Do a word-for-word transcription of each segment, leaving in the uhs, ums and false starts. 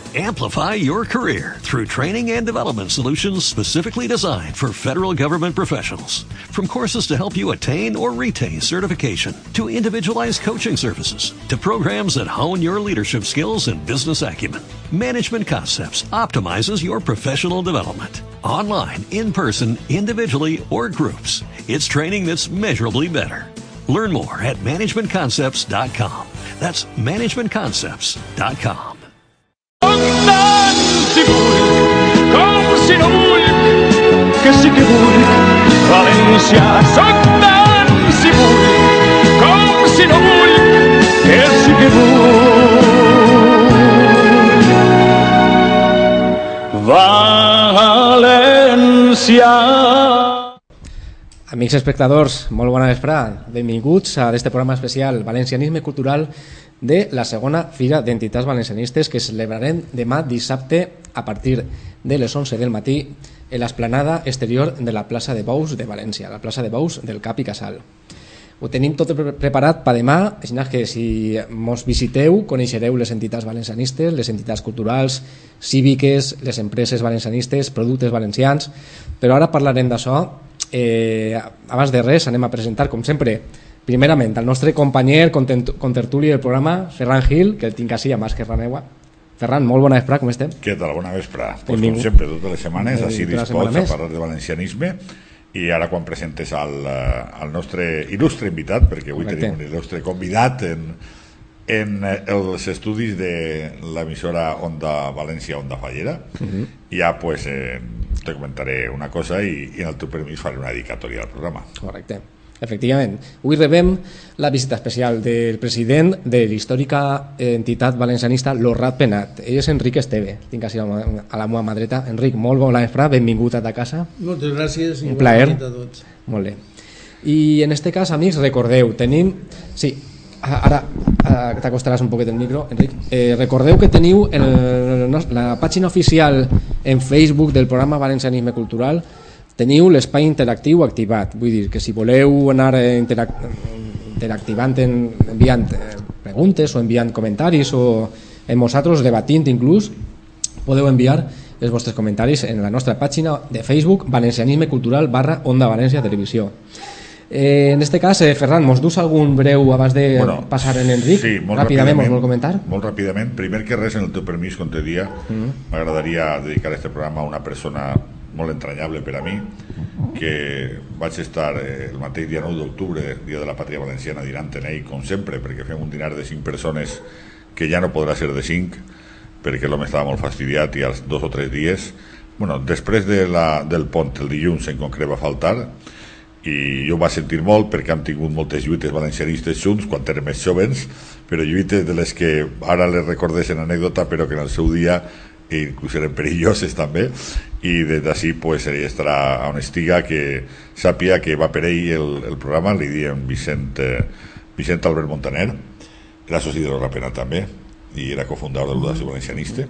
Amplify your career through training and development solutions specifically designed for federal government professionals. From courses to help you attain or retain certification, to individualized coaching services, to programs that hone your leadership skills and business acumen, Management Concepts optimizes your professional development. Online, in person, individually, or groups, it's training that's measurably better. Learn more at management concepts dot com. That's management concepts dot com. Si vulc, com si no vull, que sí que vull, València. Soc tant si vull, com si no vull, que sí que vull, València. Amics espectadors, molt bona vesprada. Benvinguts a este programa especial Valencianisme Cultural de la segona Fira d'Entitats Valencianistes que celebrarem demà dissabte a partir de les onze del matí en l'esplanada exterior de la plaça de Bous de València, la plaça de Bous del Cap i Casal. Ho tenim tot preparat per demà, així que si mos visiteu coneixereu les entitats valencianistes, les entitats culturals, cíviques, les empreses valencianistes, productes valencians, però ara parlarem d'això. Eh, abans de res anem a presentar, com sempre, primerament el nostre companyer contertuli del programa, Ferran Gil, que el tinc així a mà esquerra meua. Ferran, molt bona vesprada, com estem? Què tal? Bona vesprada. Pues, com sempre, totes les setmanes, així dispots a parlar de valencianisme, i ara quan presentes al, al nostre il·lustre invitat, perquè avui Correcte. Tenim un il·lustre convidat en, en els estudis de l'emissora Onda València, Onda Fallera, uh-huh. ja pues, eh, te comentaré una cosa i, i en el teu permís faré una dedicatòria al programa. Correcte. Efectivament, avui rebem la visita especial del president de l'històrica entitat valencianista L'Orrat Penat. Ell és Enric Esteve, tinc així a la meva mà dreta. Enric, molt bona vesprada, benvingut a ta casa. Moltes gràcies i un plaer. a tots. Molt bé. I en este cas, amics, recordeu, tenim... Sí, ara t'acostaràs un poquet el micro, Enric. Eh, recordeu que teniu el, la pàgina oficial en Facebook del programa Valencianisme Cultural. Teniu l'espai interactiu activat, vull dir que si voleu anar interac interactivant en, enviant preguntes o enviant comentaris o en nosaltres debatint inclús, podeu enviar els vostres comentaris en la nostra pàgina de Facebook Valencianisme Cultural barra Onda València Televisió. Eh, en este cas, eh, Ferran, mos dus algun breu abans de bueno, passar en Enric? Sí, molt ràpidament, ràpidament, mos vol comentar? Molt ràpidament. Primer que res, en el teu permís, com te dia, m'agradaria mm. dedicar este programa a una persona molt entranyable per a mi, que vaig estar el mateix dia nou d'octubre, dia de la Pàtria Valenciana, dinant en ell, com sempre, perquè fem un dinar de cinc persones que ja no podrà ser de cinc, perquè l'home estava molt fastidiat i als dos o tres dies, bueno, després de la, del pont, el dilluns en concret va faltar, i jo ho vaig sentir molt perquè hem tingut moltes lluites valencianistes junts quan érem més jovens, però lluites de les que ara les recordes en anècdota, però que en el seu dia inclús eren perilloses també, i des d'ací pues, ell estarà on estiga, que sàpia que va per ell el, el programa, li diem Vicent, eh, Vicent Albert Montaner, era soci de l'Orrat Penat també, i era cofundador de l'Audació Valencianista,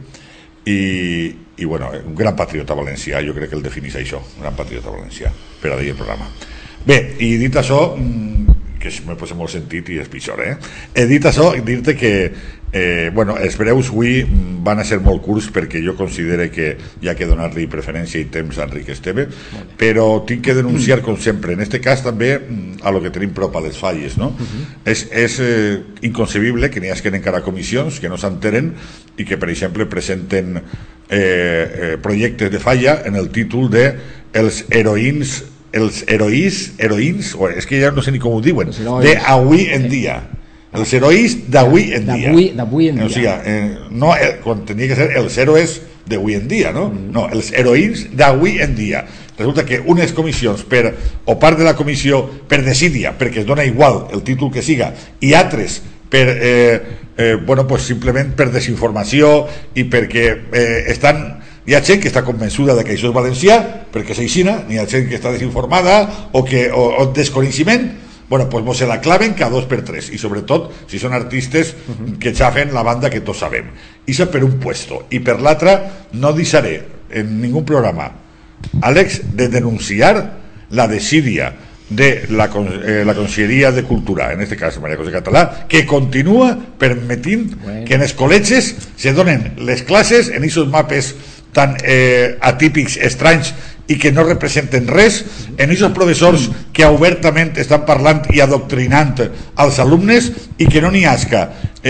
i, i bueno, un gran patriota valencià, jo crec que el definís això, un gran patriota valencià, per a dir el programa. Bé, i dit això, que me posa molt sentit i és pitjor, eh? He dit això, dir-te que eh, bueno, els breus avui van a ser molt curts perquè jo considero que hi ha que donar-li preferència i temps a Enric Esteve, però tinc que denunciar, com sempre, en este cas també a lo que tenim prop a les falles, no? Uh-huh. És, és eh, inconcebible que n'hi hagi encara comissions que no s'enteren i que, per exemple, presenten eh, eh, projectes de falla en el títol de els heroïns els heroïs, heroïns, o és que ja no sé ni com ho diuen, d'avui en dia. Els heroïs d'avui en dia. D'avui en dia. O sigui, eh, no, eh, quan tenia que ser els héroes d'avui en dia, no? Mm. No, els heroïns d'avui en dia. Resulta que unes comissions, per, o part de la comissió, per desídia, perquè es dona igual el títol que siga, i altres per, eh, eh, bueno, pues simplement per desinformació i perquè eh, estan... Hi ha gent que està convençuda de que això és valencià perquè s'aixina, n'hi ha gent que està desinformada o que o, o desconeixement, bueno, pues mos se la claven cada dos per tres, i sobretot si són artistes que xafen la banda que tots sabem. I això per un puesto. I per l'altre no deixaré en ningú programa, Àlex, de denunciar la desídia, de la, eh, la Conselleria de Cultura, en este cas Maria José Català, que continua permetint bueno. que en els col·legis se donen les classes en aquests mapes tan eh, atípics, estranys i que no representen res, en aquests professors que obertament estan parlant i adoctrinant als alumnes i que no n'hi hasca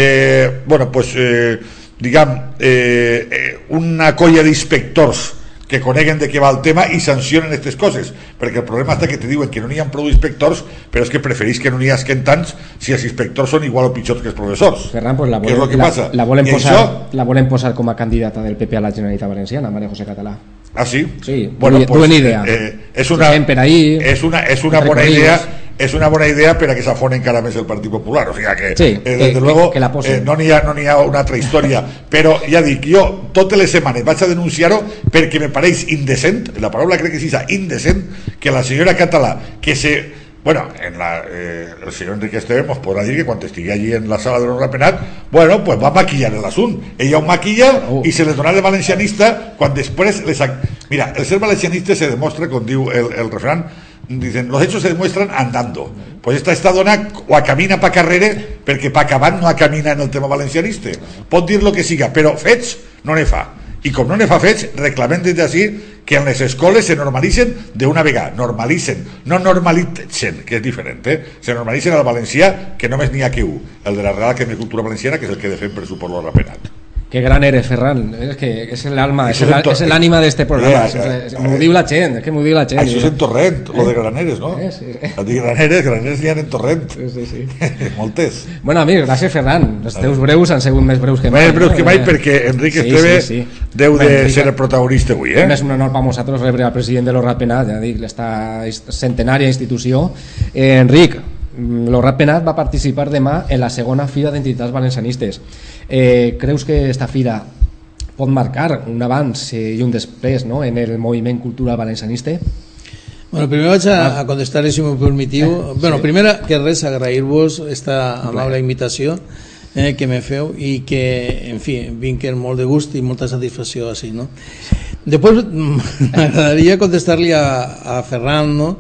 eh, bueno, pues, eh, diguem eh, eh, una colla d'inspectors que coneguen de què va el tema i sancionen aquestes coses, perquè el problema està que te diuen que no n'hi ha prou inspectors, però és que preferís que no n'hi hasquen tants si els inspectors són igual o pitjors que els professors. Ferran, pues la, volen, és el que la, passa. La, volen posar, això... la volen posar com a candidata del P P a la Generalitat Valenciana, Maria José Català. Ah, sí? Sí, bueno, pues, buena idea. Eh, és una, per ahí, és una, és una bona idea és una bona idea per a que s'afone encara més el Partit Popular, o sigui que, sí, eh, des de luego que, que eh, no n'hi ha, no n'hi ha una altra història, però ja dic, jo totes les setmanes vaig a denunciar-ho perquè me pareix indecent, la paraula crec que sí, indecent, que la senyora Català, que se... Bueno, en la, eh, el senyor Enrique Esteve nos podrà dir que quan estigui allí en la sala de l'Honra Penat, bueno, pues va a maquillar l'assunt. Ella ho maquilla oh. i se les dona de valencianista quan després les... Mira, el ser valencianista se demostra, com diu el, el refrán, dicen, los hechos se demuestran andando. Pues esta, esta dona o a camina pa carrere perquè pa acabar no a camina en el tema valencianista. Pot dir lo que siga, però fets no ne fa. I com no ne fa fets, reclamem des d'ací que en les escoles se normalitzen d'una vegada, normalitzen, no normalitzen, que és diferent, eh? Se normalitzen al valencià, que només n'hi ha que un, el de la Real Acadèmia de Cultura Valenciana, que és el que defèn per suport l'Honra Penat. Qué gran eres, Ferran. Es que es el alma, es el, es el ánima de este programa. M'ho diu la gent, es que m'ho diu la gent. Això és en Torrent, lo de Graneres, no? Eh, sí. El de Graneres, Graneres n'hi ha en Torrent. Sí, sí, sí. Moltes. Bueno, amics, gràcies, Ferran. Els teus breus han sigut més breus que mai. Més breus que mai, perquè Enric Esteve sí, sí, sí. deu de Enrique, ser el protagonista avui, eh? És un honor per nosaltres rebre al president de l'Honra Penat, ja dic, l'esta centenària institució. Eh, Enric, l'Honra Penat va participar demà en la segona Fira d'Entitats Valencianistes. Eh, creus que esta fira pot marcar un abans i un després, no?, en el moviment cultural valencianista? Bueno, primer vaig a, a contestar, si m'ho permetiu. Eh, bueno, sí. Primer que res, agrair-vos esta amable invitació eh, que me feu i que, en fi, vinc amb molt de gust i molta satisfacció així, no? Després m'agradaria contestar-li a, a Ferran, no?,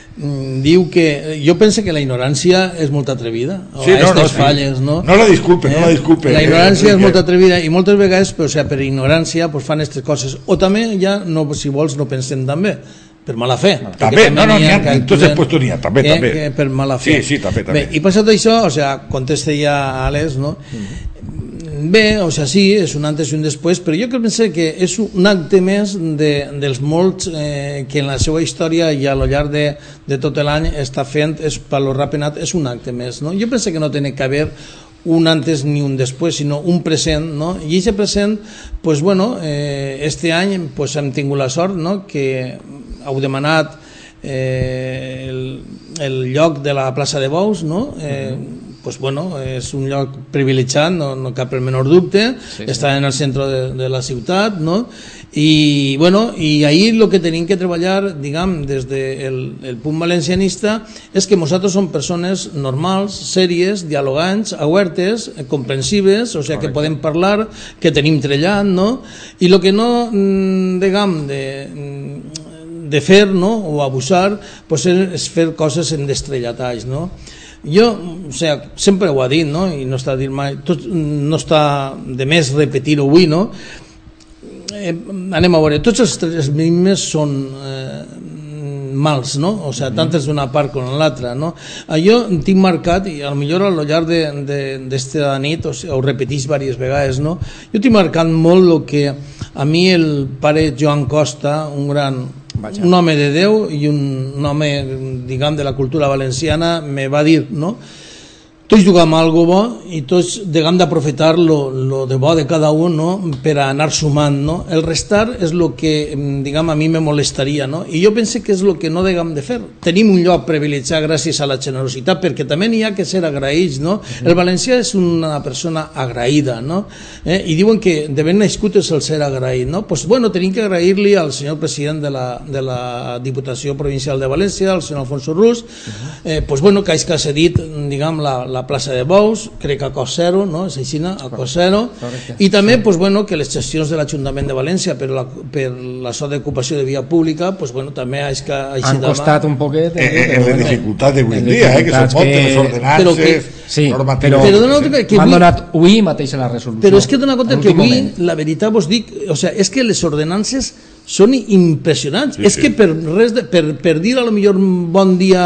diu que jo penso que la ignorància és molt atrevida, sí, no, no, falles, no? no la disculpe, eh? no la disculpe la ignorància eh, és molt atrevida i moltes vegades però, o sea, per ignorància pues, fan aquestes coses o també ja, no, si vols, no pensem també per mala fe també, no, no, n'hi ha, entonces pues n'hi ha també, que, també que per mala fe sí, sí, també, també. Bé, i passat això, o sea, contesta ja a Alex, no? Mm-hmm. Bé, o sea, sí, és un antes i un després, però jo penso que és un acte més de, dels molts eh, que en la seva història i a lo llarg de, de tot l'any està fent, és, per l'Honra Penat és un acte més, no? Jo penso que no té que haver un antes ni un després, sinó un present, no? I aquest present, pues bueno, eh, este any pues, hem tingut la sort, no?, que heu demanat eh, el, el lloc de la plaça de Bous, no?, eh, mm-hmm. Pues bueno, és un lloc privilegiat, no, no cap el menor dubte, sí, sí. Està en el centre de, de la ciutat, no? I bueno, i ahir el que tenim que treballar, diguem, des del de el punt valencianista, és que nosaltres som persones normals, sèries, dialogants, obertes, comprensives, o sigui que podem parlar, que tenim trellat, no? I el que no, diguem, de... de fer, no?, o abusar, pues és fer coses en destrellatall, no? Jo, o sigui, sempre ho ha dit, no?, i no està a dir mai, tot, no està de més repetir-ho avui, no? Eh, anem a veure, tots els tres ritmes són eh, mals, no? O sigui, tant és d'una part com l'altra, no? Jo tinc marcat, i potser a lo llarg d'esta nit, o sigui, ho repetís diverses vegades, no? Jo tinc marcat molt el que a mi el pare Joan Costa, un gran... Vaja. Un home de Déu i un, un home, diguem, de la cultura valenciana me va dir, no?, tots juguem algo bo i tots diguem d'aprofitar lo, lo de bo de cada un, no?, per a anar sumant, no? El restar és el que, diguem, a mi me molestaria, no? I jo penso que és el que no diguem de fer. Tenim un lloc privilegiat gràcies a la generositat, perquè també n'hi ha que ser agraïts, no? El valencià és una persona agraïda, no? Eh? I diuen que de ben nascut és el ser agraït, no? Pues bueno, tenim que agrair-li al senyor president de la, de la Diputació Provincial de València, el senyor Alfonso Rus, eh, pues bueno, que ha cedit, diguem, la, la la plaça de Bous, crec que a cost zero, no? És així, a cost zero, i també pues, bueno, que les gestions de l'Ajuntament de València per la, per la so d'ocupació de via pública pues, bueno, també és que així han costat un poquet eh, eh, en la dificultat d'avui en dia, eh, que són moltes les ordenances sí, normatives, però, però que, que m'han avui, donat avui mateix la resolució, però és que dona compte que avui moment. la veritat vos dic, o sea, és que les ordenances són impressionants, sí, és sí. que per res de, per, per dir a lo millor bon dia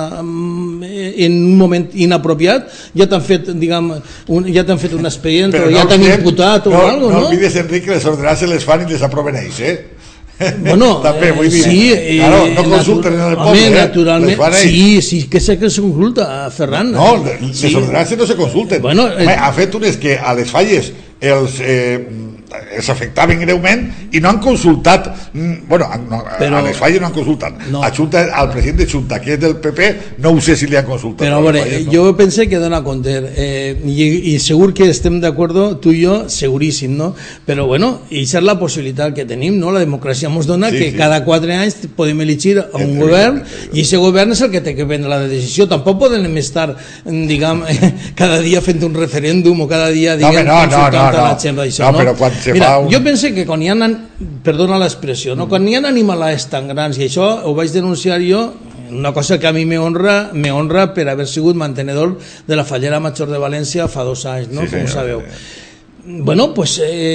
en un moment inapropiat ja t'han fet, diguem, un, ja t'han fet un expedient o ja no t'han imputat o no, algo, no? No olvides, Enric, que les ordenances les fan i les aproven ells, eh? Bueno, també, vull dir, sí, claro, no consulten en el poble, home, naturalment, les fan ells. sí, sí, que sé que se consulta, Ferran. No, les sí. ordenances no se consulten. Bueno, eh, ha fet unes que a les falles els... Eh, els afectaven greument i no han consultat, bueno, no, però, a les falles no han consultat, no. A Junta, al president de Junta, que és del P P, no ho sé si li han consultat. Però a veure, falles, no? Jo pensé que dona compte, eh, i, i segur que estem d'acord, tu i jo, seguríssim, no? Però bueno, i és la possibilitat que tenim, no? La democràcia ens dona sí, que sí. cada quatre anys podem elegir a un entre govern entre i aquest govern és el que té que prendre la decisió. Tampoc podem estar, diguem, cada dia fent un referèndum o cada dia, diguem, no, no, consultant no, no, a la gent d'això, no? no? Però quan se Mira, fa un... jo pense que quan hi ha, perdona l'expressió, no? Quan hi ha animalats tan grans, i això ho vaig denunciar jo, una cosa que a mi me honra, me honra per haver sigut mantenedor de la fallera major de València fa dos anys, no? Sí, com senyor, sabeu. Sí. Bueno, pues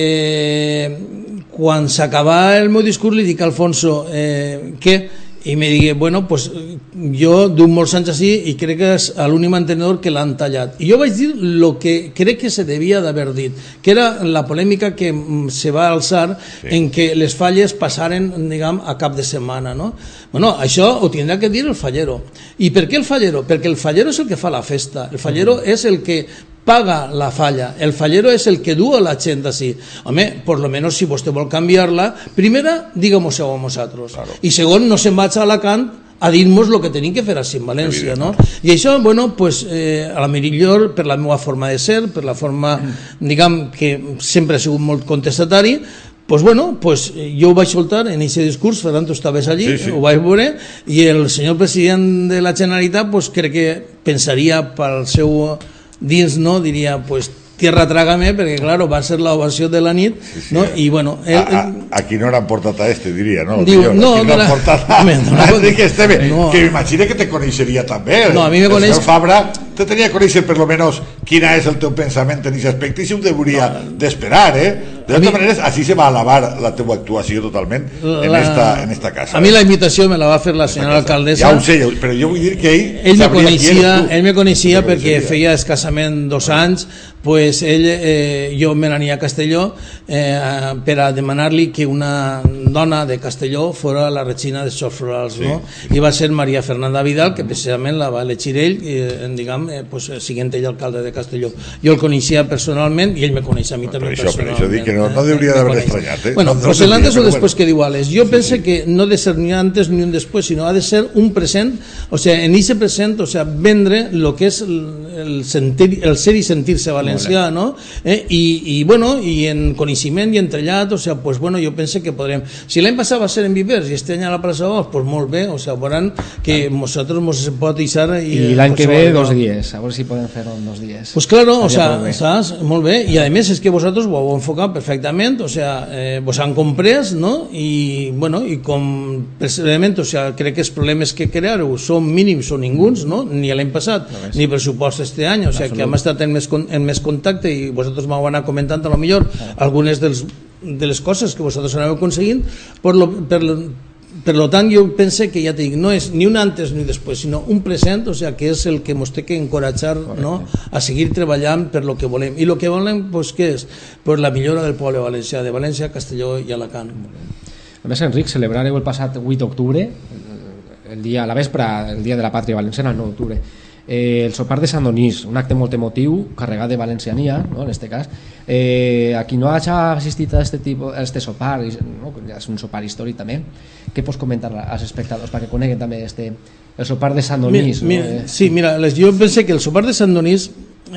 eh, quan s'acaba el meu discurs li dic a Alfonso eh, que i me digui, bueno, pues jo d'un molts anys així i crec que és l'únic mantenedor que l'han tallat. I jo vaig dir el que crec que se devia d'haver dit, que era la polèmica que se va alçar sí. en que les falles passaren, diguem, a cap de setmana, no? Bueno, això ho tindrà que dir el fallero. I per què el fallero? Perquè el fallero és el que fa la festa, el fallero mm. és el que paga la falla, el fallero és el que du a la gent així. Home, por lo menos si vostè vol canviar-la, primera, digue-mos-ho a nosaltres, claro. I segon, no se'n vaig a Alacant a dir-nos el que tenim que fer així en València, no? I això, bueno, pues, eh, a la millor per la meva forma de ser, per la forma, diguem, que sempre he sigut molt contestatari, pues bueno, pues jo ho vaig soltar en aquest discurs, Ferran, tu estaves allí, sí, sí. Ho vaig veure, i el senyor president de la Generalitat, pues crec que pensaria pel seu dins, no, diria, pues tierra trágame, perquè claro, va ser l'ovació de la nit, sí, sí, no? I bueno, el, a, a, aquí no han portat a este, diria, no? Diu, Millor, no, aquí no han portat a, a Enrique Esteve, no. Que m'imagina que te coneixeria també. No, a mi me coneix... El senyor Fabra te tenia que conèixer per lo menos quina és el teu pensament en aquest aspecte i si ho hauria no. d'esperar, eh? De totes mi... maneres, així se va alabar la teva actuació totalment la... en, esta, en esta casa. A mi la invitació me la va fer la senyora alcaldessa. Ja ho sé, però jo vull dir que ell... Ell me coneixia, ell me coneixia perquè feia escassament dos anys, pues ell, eh, jo me n'ania a Castelló eh, per a demanar-li que una dona de Castelló fora la regina de Sorts Florals, sí, no? Sí. I va ser Maria Fernanda Vidal, que precisament la va elegir ell, eh, diguem, eh, pues, siguent ell alcalde de Castelló. Jo el coneixia personalment i ell me coneixia a mi no, també això, personalment. Per això dic que no, no hauria d'haver estranyat. Eh? Bueno, no, pues no el antes o después bueno. que diu Alex. Jo sí, pense sí. que no de ser ni antes ni un después, sino ha de ser un present, o sea, en ese present, o sea, vendre lo que es el, el, sentir, el ser i sentir-se valencià, no? Eh? I, i, bueno, i en coneixement i entrellat, o sea, pues bueno, jo pense que podrem... Si l'any passat va ser en Vivers i este any a la plaça Bous, pues molt bé, o sea, veuran que nosaltres mos pot deixar... I, I l'any que ve dos dies, a veure si podem fer-ho en dos dies. Pues claro, o sea, saps? Molt bé, i a més és que vosaltres ho heu enfocat perfectament, o sea, eh, vos han comprès, no? I, bueno, i com precisament, o sea, crec que els problemes que creareu són mínims o ninguns, no? Ni l'any passat, no ni pressupost este any, o sea, que hem estat en més, en més contacte i vosaltres m'ho anat comentant a lo millor algunes dels, de les coses que vosaltres aneu aconseguint, per lo, per lo, per lo tant jo pense que ja te dic, no és ni un antes ni després, sinó un present, o sea, que és el que ens té que encoratjar, no? A seguir treballant per lo que volem. I lo que volem, pues, què és? Pues la millora del poble valencià, de València, Castelló i Alacant. A més, Enric, celebrareu el passat vuit d'octubre, el dia, a la vespra, el dia de la pàtria valenciana, el nou d'octubre, eh, el sopar de Sant Donís, un acte molt emotiu, carregat de valenciania, no? En este cas. Eh, a qui no hagi assistit a este, tipo, a este sopar, no? És un sopar històric també, què pots comentar als espectadors perquè coneguen també este, el sopar de Sant Donís? Mira, no? mira, sí, mira, jo pensé que el sopar de Sant Donís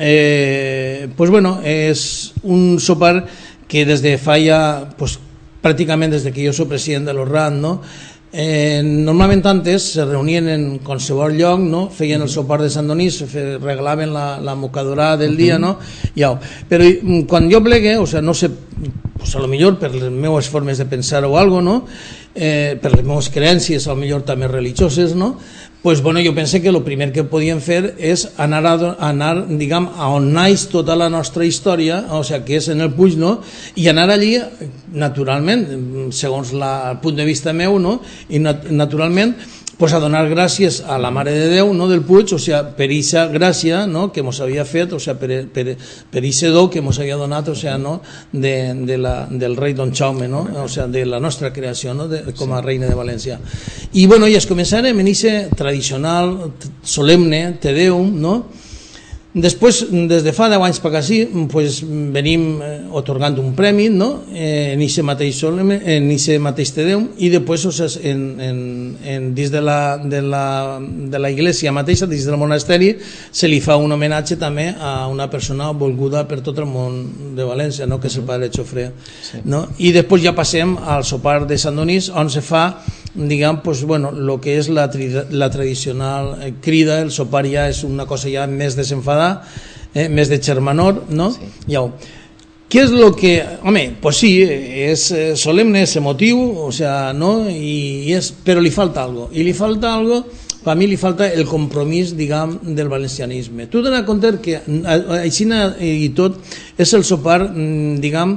eh, pues bueno, és un sopar que des de fa ja, pues, pràcticament des de que jo soc president de l'O R R A N, no? Eh, normalment antes se reunien en qualsevol lloc, no? Feien el sopar de Sant Donís, regalaven la, la mocadora del dia, no? Ja. Però quan jo plegue, o sea, no sé, pues a lo millor per les meves formes de pensar o algo, no? Eh, per les meves creences, a lo millor també religioses, no? Pues bueno, jo pense que el primer que podíem fer és anar, a, anar diguem, a on naix tota la nostra història, o sigui, que és en el Puig, no? I anar allí, naturalment, segons la, el punt de vista meu, no? I nat naturalment, pues a donar gràcies a la Mare de Déu, no, del Puig, o sea, per aquesta gràcia, no, que mos havia fet, o sea, per, per, per aquest do que mos havia donat, o sea, no, de, de la, del rei Don Jaume, no, o sea, de la nostra creació, no, de, com a reina de València. I bueno, i es començarem en aquest tradicional, solemne, Te Deum, no? Després, des de fa deu anys per aquí, pues, venim eh, otorgant un premi, no? eh, en aquest mateix solemne, en aquest mateix Te Deum, i després, o sigui, en, en, en, dins de la, de, la, de la iglesia mateixa, dins del monasteri, se li fa un homenatge també a una persona volguda per tot el món de València, no? Que és el Padre Xofré. Sí. No? I després ja passem al sopar de Sant Donís, on se fa, diguem, pues, bueno, lo que és la, la tradicional crida. El sopar ja és una cosa ja més desenfadada, eh, més de xermanor, no? Sí. Ja. Què és lo que... Home, pues sí, és solemne, és emotiu, o sea, no? I és, però li falta algo. I li falta algo, per mi li falta el compromís, diguem, del valencianisme. Tu t'has compte que així i tot és el sopar, diguem,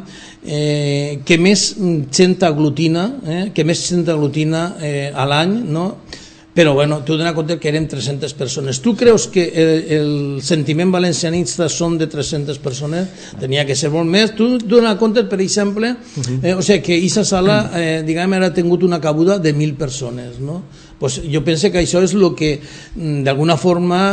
eh, que més gent aglutina, eh, que més gent aglutina eh, a l'any, no? Però bueno, tu t'has compte que eren tres-centes persones. Tu creus que el, el sentiment valencianista són de tres-centes persones? Tenia que ser molt més. Tu t'has compte, per exemple, eh, o sigui, que aquesta sala, eh, diguem, ha tingut una cabuda de mil persones, no? Pues jo penso que això és el que d'alguna forma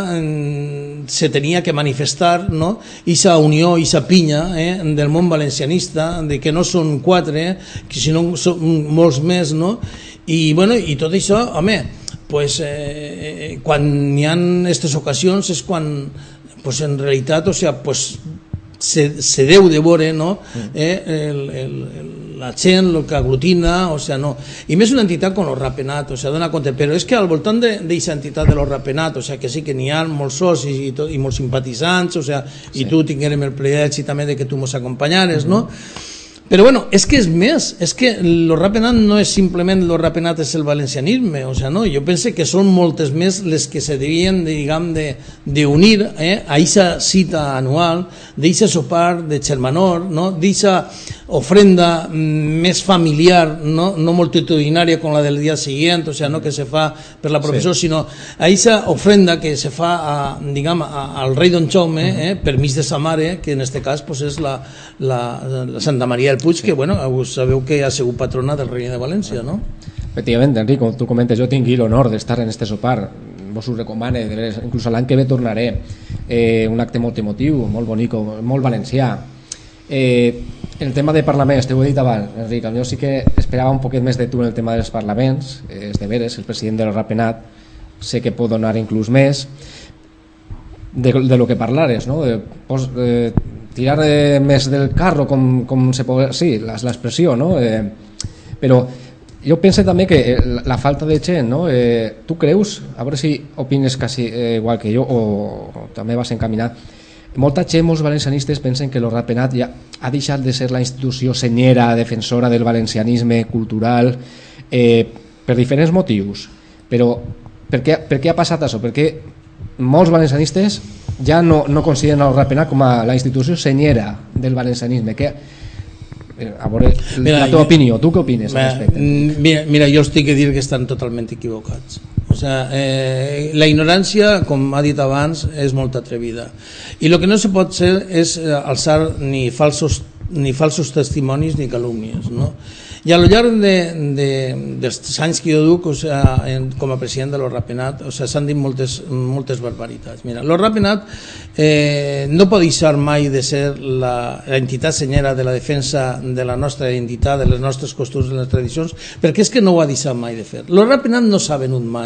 se tenia que manifestar, no? Esa unió, esa pinya, eh, del món valencianista, de que no són quatre, eh, que sinó són molts més, no? I, bueno, i tot això, home, pues, eh, quan hi ha aquestes ocasions és quan, pues, en realitat, o sea, pues, se, se deu de veure, no? eh, el, el, el, la gent, el que aglutina, o sea, no. I més una entitat com el Rapenat, o sea, dona compte, però és que al voltant d'aquesta entitat de los Rapenat, o sea, que sí que n'hi ha molts socis i, tot, i molts simpatitzants, o sea, sí. I tu tinguérem el privilegi també de que tu mos acompanyares, mm-hmm. no? Però bueno, és que és més, és que el Rapenat no és simplement el Rapenat és el valencianisme, o sea, no, jo penso que són moltes més les que se devien, diguem, de, de unir eh, a aquesta cita anual, d'aquest sopar de xermanor, no? D'aquesta ofrenda més familiar, no, no multitudinària com la del dia següent, o sea, no que se fa per la professor, sí. Sinó a aquesta ofrenda que se fa a, diguem, a, al rei Don Jaume, eh, per mig de sa mare, que en este cas pues, és la, la, la Santa Maria del Puig, sí. Que bueno, sabeu que ha sigut patrona del rei de València, no? Efectivament, Enric, com tu comentes, jo tinc l'honor d'estar en este sopar, vos ho recomane, inclús l'any que ve tornaré, eh, un acte molt emotiu, molt bonic, molt valencià. Eh, el tema de parlaments, t'ho he dit abans, Enric, jo sí que esperava un poquet més de tu en el tema dels parlaments, eh, és de veres, el president del Rapenat, sé que pot donar inclús més, de, de lo que parlares, no? De, pos, de, tirar eh, més del carro, com, com se pot... Sí, l'expressió, no? Eh, però jo penso també que la, la falta de gent, no? Eh, tu creus, a veure si opines quasi eh, igual que jo o, o també vas encaminat, molta gent, molts valencianistes pensen que el Rapenat ja ha deixat de ser la institució senyera, defensora del valencianisme cultural, eh, per diferents motius. Però per què, per què ha passat això? Perquè molts valencianistes ja no, no consideren el Rapenat com a la institució senyera del valencianisme. Que, a veure, mira, la teva opinió, tu què opines al respecte? Mira, mira, jo estic a dir que estan totalment equivocats. O sea, eh, la ignorància, com ha dit abans, és molt atrevida. I el que no se pot ser és alçar ni falsos, ni falsos testimonis ni calúmnies, no? I a lo llarg de, de, dels anys que jo duc, o sea, en, com a president de lo Rapenat, o sea, s'han dit moltes, moltes barbaritats. Mira, lo Rapenat eh, no pot deixar mai de ser la, la entitat senyera de la defensa de la nostra identitat, de les nostres costums, de les tradicions, perquè és que no ho ha deixat mai de fer. Lo Rapenat no s'ha venut mai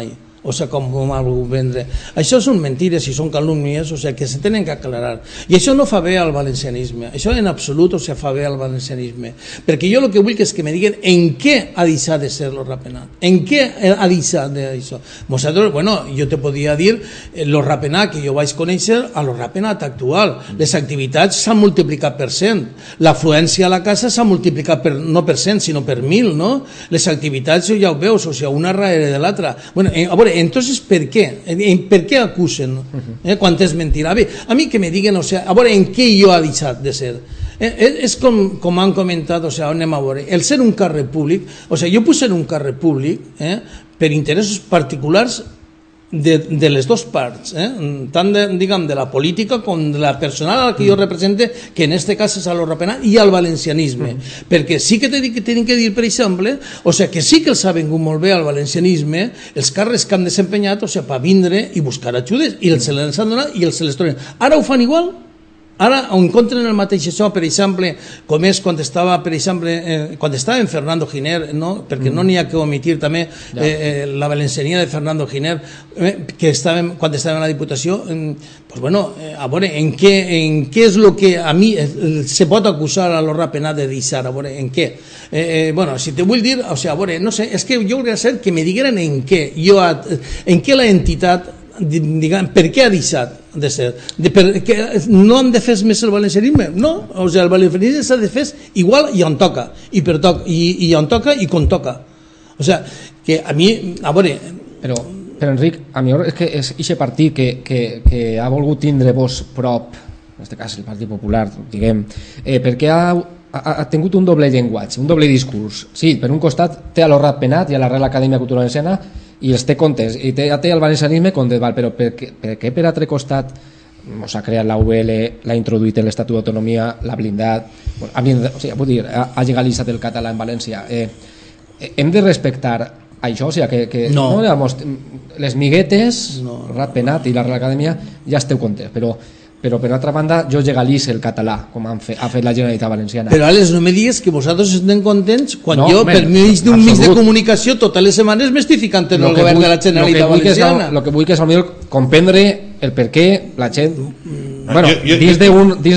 o sigui, com m'ha volgut vendre. Això són mentides i són calúmnies, o sigui, que se tenen que aclarar. I això no fa bé al valencianisme, això en absolut, o sigui, fa bé al valencianisme. Perquè jo el que vull és que me diguen en què ha deixat de ser lo rapenat, en què ha deixat d'això. Nosaltres, bueno, jo te podia dir lo rapenat que jo vaig conèixer a lo rapenat actual. Les activitats s'han multiplicat per cent, l'afluència a la casa s'ha multiplicat per, no per cent, sinó per mil, no? Les activitats ja ho veus, o sigui, una darrere de l'altra. Bueno, a veure, entonces, per què? Per què acusen? Eh, quan és mentira? Bé, a mi que me diguen, o sigui, a veure, en què jo ha deixat de ser? Eh, és com, com han comentat, o sigui, anem a veure, el ser un càrrec públic, o sigui, jo puc ser un càrrec públic eh, per interessos particulars de, de les dues parts, eh? Tant de, diguem, de la política com de la personal a la que jo represente, que en este cas és a lo rapenat i al valencianisme, mm. perquè sí que tenen que, que dir, per exemple, o sigui, que sí que els ha vengut molt bé al valencianisme els càrrecs que han desempenyat, o sigui, per vindre i buscar ajudes, i els se les han donat i els se les tornen. Ara ho fan igual? Ara encontren el mateix això, per exemple, com és quan estava, per exemple, eh, quan estava en Fernando Giner, no? Perquè mm. no n'hi ha que omitir també eh, eh, la valenciania de Fernando Giner, eh, que estava, quan estava en la Diputació, eh, pues bueno, eh, a veure, en què, en què és el que a mi eh, se pot acusar a lo rapenat de deixar, a veure, en què? Eh, eh, bueno, si te vull dir, o sigui, a veure, no sé, és que jo hauria de ser que me digueren en què, jo, en què la entitat, diguem, per què ha deixat de ser, de, per, que no han de fer més el valencianisme, no, o sigui, el valencianisme s'ha de fer igual i on toca, i per toc, i, i on toca i com toca, o sigui, que a mi, a veure, però, però Enric, a mi és que és aquest partit que, que, que ha volgut tindre vos prop, en aquest cas el Partit Popular, diguem, eh, perquè ha, ha, ha tingut un doble llenguatge, un doble discurs. Sí, per un costat té a lo rapenat i a la Real Acadèmia Cultural Valenciana i els té comptes, i té, té el valencianisme comptes, val, però per què, per què per altre costat s'ha creat la U L, l'ha introduït en l'Estatut d'Autonomia, l'ha blindat, bueno, ha, blindat o sigui, vull dir, ha, ha legalitzat el català en València. Eh, hem de respectar això, o sigui, que, que no. No, digamos, les miguetes, no. Rapenat i la Real Acadèmia ja esteu comptes, però però per altra banda jo legalitzo el català com han fet, ha fet la Generalitat Valenciana. Però Àlex, no me digues que vosaltres estem contents quan no, jo men, per mig d'un mig de comunicació totes les setmanes m'estic ficant en el govern vull, de la Generalitat Valenciana. El que vull que és millor comprendre el per què la gent bueno, jo, jo, dins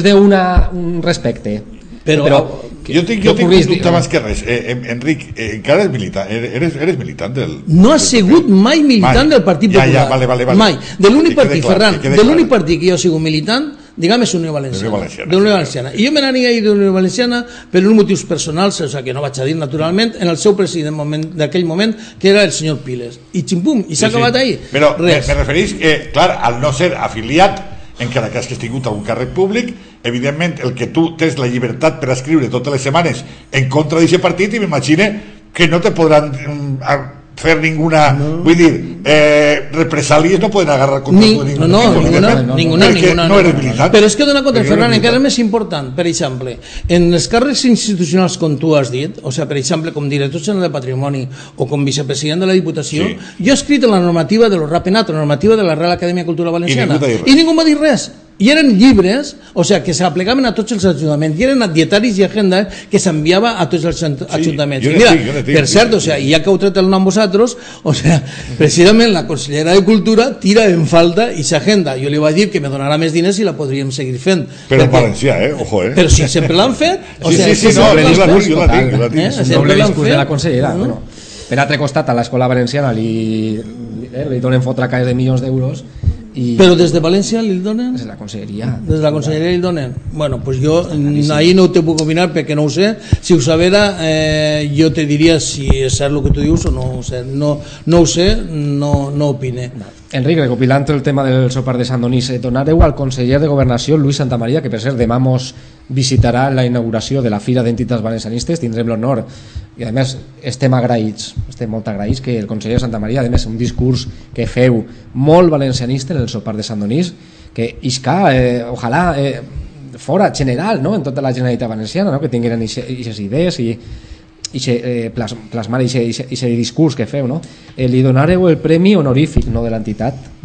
d'un respecte. Però, però jo tinc, jo tinc un dubte abans que res. Eh, Enric, eh, encara eres militant, eres, eres militant del... No ha sigut mai militant mai. Del Partit Popular. Ja, ja, vale, vale, vale. Mai. De l'únic partit, clar, Ferran, de l'únic partit que jo he sigut militant, diguem, és Unió Valenciana. Valenciana, de Unió Valenciana. I jo me n'anava a ir de Unió Valenciana per uns motius personals, o sigui, que no vaig a dir naturalment, en el seu president d'aquell moment, que era el senyor Piles. I ximpum, i s'ha sí, acabat sí. ahí. Però me, me referís que, clar, al no ser afiliat, encara que has tingut a un càrrec públic, evidentment el que tu tens la llibertat per escriure totes les setmanes en contra d'aquest partit, i m'imagine que no te podran fer ninguna, no. vull dir, eh, represàlies no poden agarrar contra Ni, tu ninguna, no, no, ninguna, no, ninguna, ninguna, no eres militant. Però és que dona contra Ferran, encara més important, per exemple, en els càrrecs institucionals com tu has dit, o sigui, per exemple, com director general de Patrimoni o com vicepresident de la Diputació, sí. Jo he escrit en la normativa de lo rapenat, la normativa de la Real Acadèmia Cultural Valenciana, i ningú, i ningú m'ha dit res. I eren llibres, o sigui, que s'aplicaven a tots els ajuntaments, i eren dietaris i agenda que s'enviava a tots els ajuntaments. Sí, mira, tinc, tinc, per cert, o sigui, ja que heu tret el nom vosaltres, o sigui, precisament la consellera de Cultura tira en falta i s'agenda. Jo li vaig dir que me donarà més diners i la podríem seguir fent. Però en valencià, eh? Ojo, eh? Però si sempre l'han fet... O sí, sigui, sí, sí, no, jo la tinc, jo la tinc. Jo la tinc. Eh? És un doble discurs de la consellera. No? Bueno, per altre costat, a l'escola valenciana li, eh, li donen fotre caes de milions d'euros. I però des de València li donen? Des de la conselleria. Des de la conselleria li donen? Bueno, pues jo ahí no ho te puc opinar perquè no ho sé. Si ho sabera, eh, jo te diria si és cert el que tu dius o no ho sé. No, no ho sé, no, no opine. Enric, recopilant el tema del sopar de Sant Donís, eh, donareu al conseller de Governació, Luis Santamaría, que per cert demà mos visitarà la inauguració de la Fira d'Entitats Valencianistes, tindrem l'honor i a més estem agraïts, estem molt agraïts que el conseller Santamaría, a més un discurs que feu molt valencianista en el sopar de Sant Donís, que isca, eh, ojalà eh, fora general, no?, en tota la Generalitat Valenciana, no?, que tingueren aquestes idees i i eh, plas, plasmar aquest discurs que feu, no? Eh, li donareu el premi honorífic, no de l'entitat,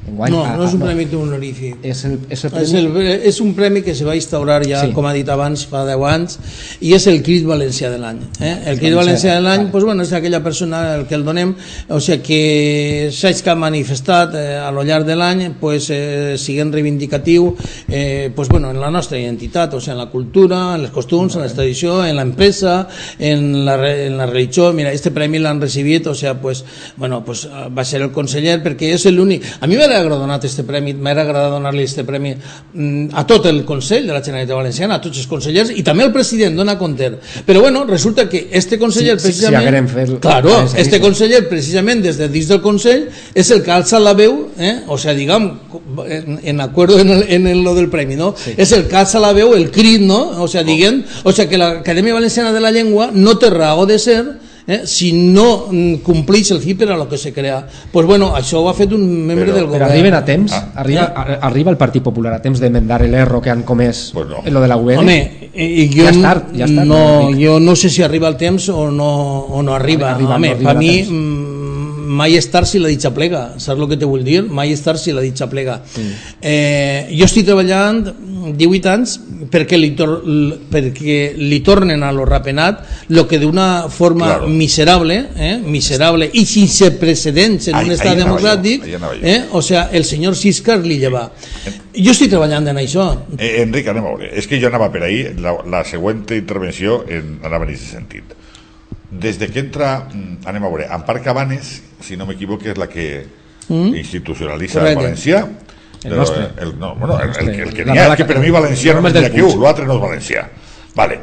Enguany, no, a, no és un no, premi honorífic. És, el, és, el premi... és, el, és un premi que se va instaurar ja, sí. com ha dit abans, fa deu anys, i és el Crit Valencià de l'any. Eh? El Crit Valencià de l'any pues, bueno, és aquella persona al que el donem, o sigui que s'hagi que ha manifestat eh, a lo llarg de l'any, pues, eh, siguent reivindicatiu eh, pues, bueno, en la nostra identitat, o sigui, en la cultura, en les costums, en la tradició, en l'empresa, en, la, en la religió. Mira, este premi l'han recibit, o sigui, pues, bueno, pues, va ser el conseller, perquè és l'únic. A mi m'ha agradat donar este premi, m'ha agradat donar-li este premi a tot el Consell de la Generalitat Valenciana, a tots els consellers, i també el president dona compte. Però bueno, resulta que este conseller sí, precisament, sí, sí, claro, este conseller precisament des de dins del Consell és el que alça la veu, eh? O sea, digam, en, en acuerdo en, el, en el, lo del premi, no? Sí. És el que alça la veu, el crit, no? O sea, diguem, o sea, que l'Acadèmia Valenciana de la Llengua no té raó de ser Eh, si no mm, compleix el fi per a lo que se crea. Pues bueno, això ho ha fet un membre però, del govern. Però arriben a temps? Ah. Arriba, a, arriba el Partit Popular a temps d'emendar l'erro que han comès pues no. en lo de la U L? Home, i jo, ja està, ja està, no, jo no sé si arriba el temps o no, o no arriba. arriba Home, no arriba per mi mm, mai és tard si la ditxa plega, saps el que te vull dir? Mai és tard si la ditxa plega. Mm. Eh, jo estic treballant divuit anys perquè li, tor perquè li tornen a lo rapenat lo que d'una forma claro. miserable, eh, miserable i sense precedents en ahí, un estat democràtic, eh, o sea, el senyor Siscar li lleva. Jo estic treballant en això. Eh, Enric, anem a veure. És que jo anava per ahí, la, la següent intervenció en, anava en aquest sentit. Des de que entra, anem a veure, Ampar Cabanes, si no m'equivoco, és la que mm? institucionalitza el valencià. El nostre. El, no, bueno, el, el, el que n'hi ha, que per mi valencià no és d'aquí, l'altre no és valencià. Vale.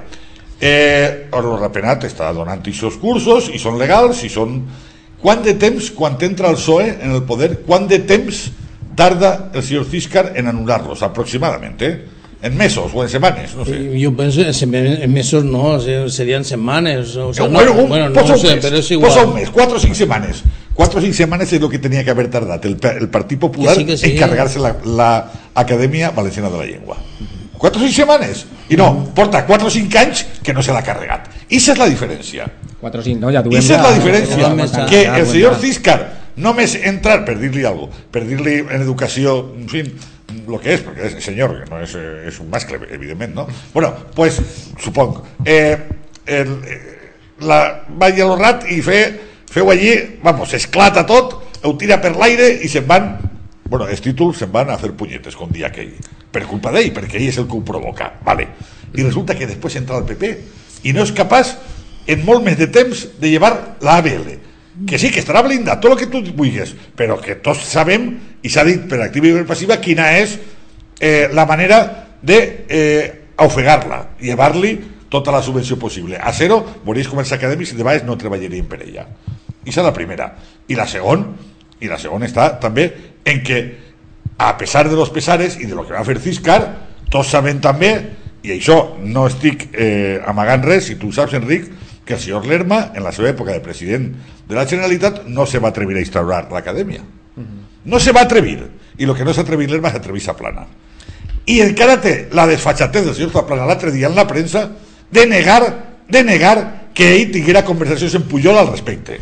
Eh, el Rapenat està donant aquests cursos i són legals i són... Quant de temps, quan entra el P S O E en el poder, quant de temps tarda el senyor Siscar en anul·lar-los, aproximadament, eh? En mesos o en setmanes, no sé. Jo penso en mesos no, serien setmanes. O sea, bueno, no, un, bueno, posa no un sé, mes, però és igual. Posa un mes, quatre o cinc setmanes. Quatre o cinc setmanes és el que tenia que haver tardat el, el Partit Popular que sí, que sí. en carregar-se la, la Acadèmia Valenciana de la Llengua. Quatre o cinc setmanes. I no, porta quatre o cinc anys que no se l'ha carregat. I esa és la diferència. quatre o cinc, no? Ja duem I esa és la ja, diferència. ja, ja, que ja, el ja, senyor ja. Siscar només entrar per dir-li alguna cosa, per dir-li en educació, en fi, lo que és, perquè és senyor, que no és, és un mascle, evidentment, no? Bueno, pues, suponc, eh, el, la, va a l'Orrat i fe, feu allí, vamos, esclata tot, ho tira per l'aire i se'n van, bueno, els títols se'n van a fer punyetes, com dia aquell, per culpa d'ell, perquè ell és el que ho provoca, vale. I resulta que després entra el P P i no és capaç, en molt més de temps, de llevar la A B L, que sí, que estarà blindat, tot el que tu vulguis, però que tots sabem, i s'ha dit per activa i per passiva, quina és eh, la manera de eh, ofegar-la, llevar-li tota la subvenció possible. A zero, veureis com els acadèmics de vegades no treballarien per ella. I és la primera. I la segona, i la segona està també en que, a pesar de los pesares i de lo que va fer Siscar, tots sabem també, i això no estic eh, amagant res, si tu saps, Enric, que el senyor Lerma, en la seva època de president de la Generalitat, no se va atrevir a instaurar l'acadèmia. No se va atrevir. I el que no s'ha atrevit Lerma s'atrevís a Plana. I encara té la desfachatez del senyor Zaplana l'altre dia en la premsa de negar, de negar que ell tinguera conversacions en Pujol al respecte.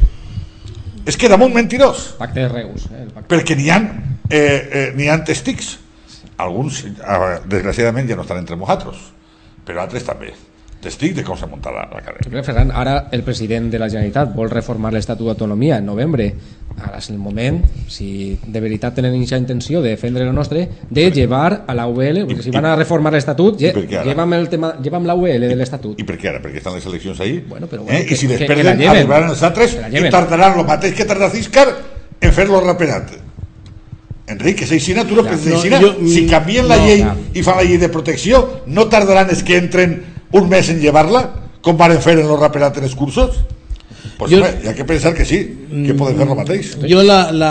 És que era molt mentirós. Pacte de Reus. Eh, el pacte. Perquè n'hi ha, eh, eh, n'hi ha testics. Alguns, eh, desgraciadament, ja no estan entre nosaltres, però altres també. Testic de com s'ha muntat l'acadèmia. Ferran, ara el president de la Generalitat vol reformar l'Estatut d'autonomia en novembre. Ara és el moment, si de veritat tenen aquesta intenció de defendre el nostre, de llevar a la U L, perquè si van a reformar l'Estatut, llevam el tema, llevam la U L de l'Estatut. I per què ara? Perquè estan les eleccions ahí? Bueno, però bueno, eh? que, I si que, després que arribaran els altres i tardaran el mateix que tarda Siscar en fer-lo rapenat. Enric, és així, tu no penses així. Si canvien la llei i fan la llei de protecció, no tardaran els que entren un mes en llevar-la, com van fer en los rapenat en els cursos? Pues jo, home, hi ha que pensar que sí, que poden fer el mateix. Jo la, la,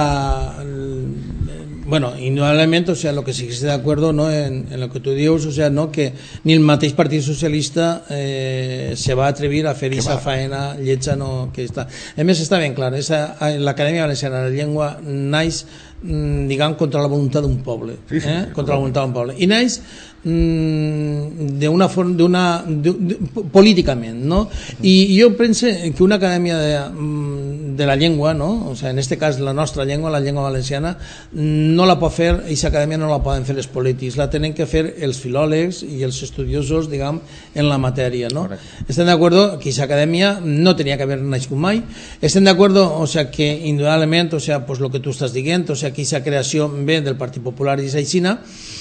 bueno, indudablement, o sea, lo que sí que estoy de acuerdo, ¿no? en, en lo que tú dius, o sea, no, que ni el mateix Partit Socialista eh, se va atrevir a fer esa faena lletja, no, que està. A més, està ben clar, l'Acadèmia Valenciana de la Llengua naix, diguem, contra la voluntat d'un poble, sí, sí, eh? sí, contra la voluntat d'un poble, i naix d'una forma, d'una, políticament, no? I jo penso que una acadèmia de, de la llengua, no? O sea, en este cas la nostra llengua, la llengua valenciana, no la pot fer, aquesta acadèmia no la poden fer els polítics, la tenen que fer els filòlegs i els estudiosos, diguem, en la matèria, no? Correcte. Estem d'acord que aquesta acadèmia no tenia que haver nascut mai. Estem d'acord, o sea, que indudablement, o sea, pues lo que tu estàs dient, o sea, que aquesta creació ve del Partit Popular i Aixina.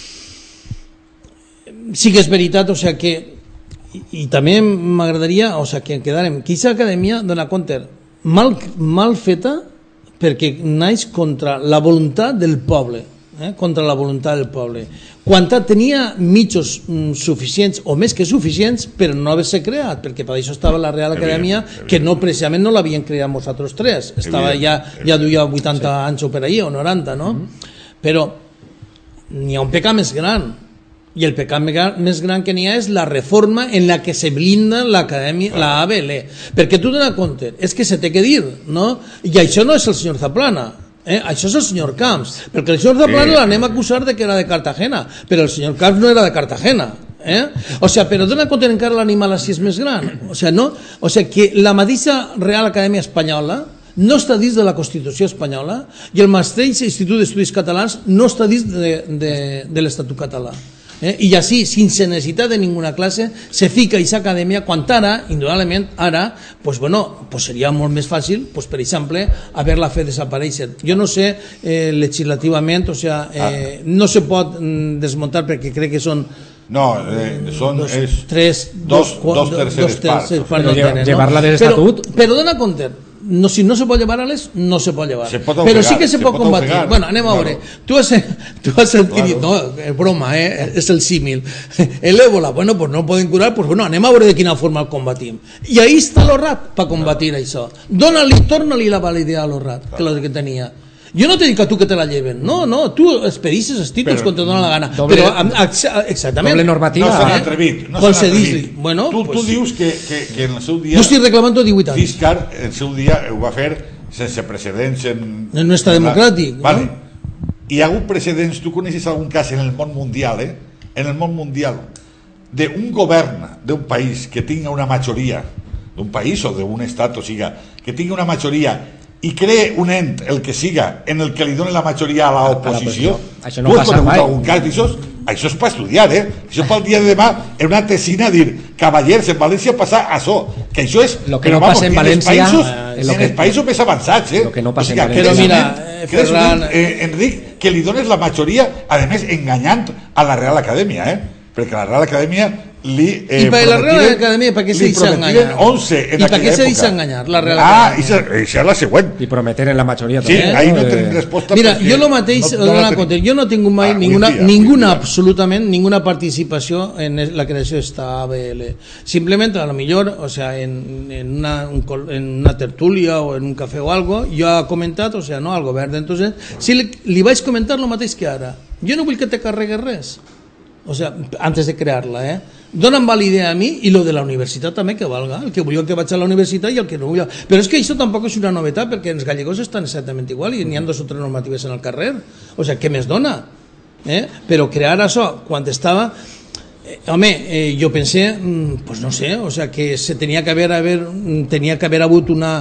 Sí que és veritat, o sea, que i, i també m'agradaria, o sea, que quedarem, que aquesta acadèmia dona compte mal, mal feta perquè naix contra la voluntat del poble, eh? contra la voluntat del poble. Quan tenia mitjos mm, suficients o més que suficients per no haver-se creat, perquè per això estava la Real Acadèmia, que no precisament no l'havien creat nosaltres tres, estava ja, ja duia vuitanta sí. anys o per ahí, o noranta, no? Mm-hmm. Però n'hi ha un pecat més gran, i el pecat més gran que n'hi ha és la reforma en la que se blinda l'acadèmia, la A B L, perquè tu dones compte, és que se té que dir, no? I això no és el senyor Zaplana, eh? Això és el senyor Camps, perquè el senyor Zaplana sí. l'anem a acusar de que era de Cartagena, però el senyor Camps no era de Cartagena, eh? O sea, però dona compte encara l'animal així és més gran, o sea, no? O sea, que la mateixa Real Acadèmia Espanyola no està dins de la Constitució espanyola i el mateix Institut d'Estudis Catalans no està dins de, de, de l'Estatut català. Eh? I així, sense necessitat de ninguna classe, se fica aquesta acadèmia, quan ara, indudablement, ara, pues bueno, pues seria molt més fàcil, pues per exemple, haver-la fet desaparèixer. Jo no sé, eh, legislativament, o sea, eh, no se pot mm, desmuntar perquè crec que són no, eh, són dos, és tres, dos, dos, dos terceres parts. parts no tenen, no? Llevar-la de l'estatut... Però, però dona compte, no, si no se pot llevar a les, no se pot llevar. Se pot ofegar, però sí que se, se pot, pot combatir. Ofegar. Bueno, anem a veure. Claro. Tu has, tu has sentit, claro. No, és broma, eh? És el símil. El ébola, bueno, pues no el poden curar, pues bueno, anem a veure de quina forma el combatim. I ahí està l'Orrat per combatir claro. això. Dóna-li, torna-li la validea a l'Orrat, claro. que la que tenia. Jo no te dic a tu que te la lleven, no, no, tu expedisses els títols quan te dona la gana, doble, però exactament, doble normativa, no s'han atrevit, no s'han atrevit. Bueno, tu, pues, tu dius que, que, que en el seu dia jo estic reclamant divuit anys. Fiscar en el seu dia ho va fer sense precedents en... En no està democràtic, vale. no? Hi ha hagut precedents, tu coneixes algun cas en el món mundial, eh? En el món mundial, d'un govern d'un país que tinga una majoria, d'un país o d'un estat, o siga, que tinga una majoria i cree un ent, el que siga, en el que li doni la majoria a l'oposició. Això no passa mai. Això, això és per estudiar, eh? Això pel dia de demà en una tesina dir, cavallers, en València passa això, que això és... Lo que no passa en València... En els països més avançats, eh? Lo que no passa en València. Però mira, eh, Ferran... Eh, Enric, que li dones la majoria, a més, enganyant a la Real Acadèmia, eh? Perquè la Real Acadèmia li eh, i per la Real Acadèmia per què se deixa enganyar? onze en i per què se deixa enganyar la Real ah, Acadèmia? Ah, això és la següent. I prometeren la majoria sí, també. ahí no tenim resposta. Mira, jo el mateix no, no compte, jo no he tingut mai ah, ninguna, dia, ninguna absolutament ninguna participació en la creació d'esta A B L. Simplement, a lo millor, o sea, en, en, una, un, en una tertúlia o en un cafè o algo, jo he comentat, o sea, no, al govern, entonces, si li, li vaig comentar el mateix que ara. Jo no vull que te carregues res. O sea, antes de crear-la, eh? Donen validea a mi i lo de la universitat també que valga, el que volia que vaig a la universitat i el que no volia. Però és que això tampoc és una novetat perquè els gallegos estan exactament igual i n'hi ha dos o tres normatives en el carrer. O sea, què més dona? Eh? Però crear això, quan estava... Eh, home, eh, jo pensé, pues no sé, o sea, que se tenia que haver, haver, tenia que haver hagut una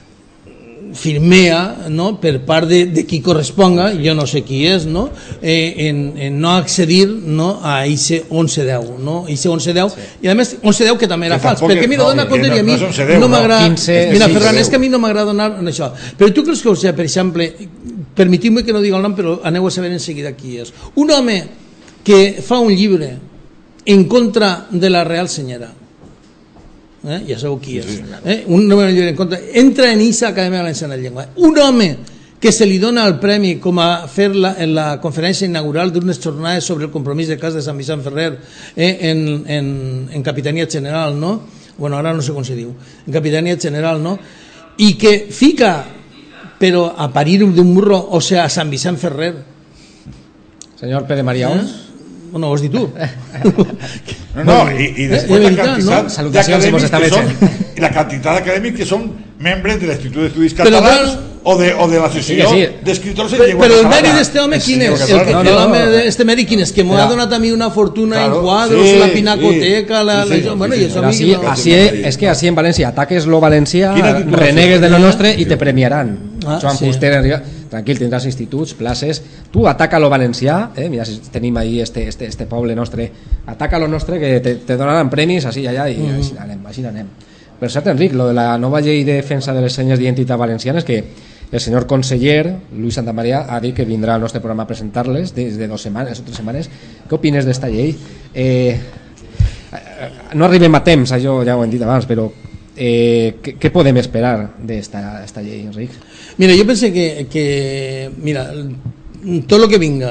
firmea, no?, per part de, de qui corresponga, jo no sé qui és, no?, eh, en, en no accedir, no?, a ese onze deu, no?, ese onze deu, sí. I a més onze deu que també era que fals, perquè mira, no, dona compte no, i a mi no, no m'agrada, mira, Ferran, és que a mi no m'agrada donar això, però tu creus que, o sigui, per exemple, permetiu-me que no digui el nom, però aneu a saber en seguida qui és, un home que fa un llibre en contra de la Real Senyera, Eh? ja sabeu qui és, eh? un home en contra, entra en aquesta Acadèmia Valenciana de Llengua, un home que se li dona el premi com a fer la, en la conferència inaugural d'unes jornades sobre el compromís de cas de Sant Vicent Ferrer eh? en, en, en Capitania General, no? Bueno, ara no sé com se diu, en Capitania General, no? I que fica, però a parir d'un burro, o sea, a Sant Vicent Ferrer. Senyor Pere Maria Ons. Eh? Bueno, ho has dit tu. No, no, i, i després eh, la quantitat no? d'acadèmics que són, i la quantitat d'acadèmics que són membres de l'Institut d'Estudis Catalans o de, o de la sessió sí, sí. d'escriptors en Però, llengua però el catalana. mèrit d'este home quin és? Sí, El, no, el, no, home no. d'este mèrit quin és? Que m'ho ha donat a mi una fortuna Claro, en quadros, sí, la pinacoteca, sí, la, sí, la, sí, bueno, sí, i això Pero a mi así, no- así es, es que así en Valencia ataques lo valencià, Quina titulació renegues de lo tenia? nostre i te premiaran. Ah, Joan sí. Fuster, arriba, tranquil, tindràs instituts, places. Tu ataca lo valencià, eh? Mira, si tenim ahí este, este, este poble nostre, ataca lo nostre que te, te donaran premis així i allà i mm. així anem, així anem. Per cert, Enric, lo de la nova llei de defensa de les senyes d'identitat valencianes, que el senyor conseller Luis Santamaría ha dit que vindrà al nostre programa a presentar-les des de dues setmanes o tres setmanes. Què opines d'esta llei? Eh, no arribem a temps, això ja ho hem dit abans, però eh, què, què podem esperar d'esta esta llei, Enric? Mira, jo penso que, que mira, tot el que vinga,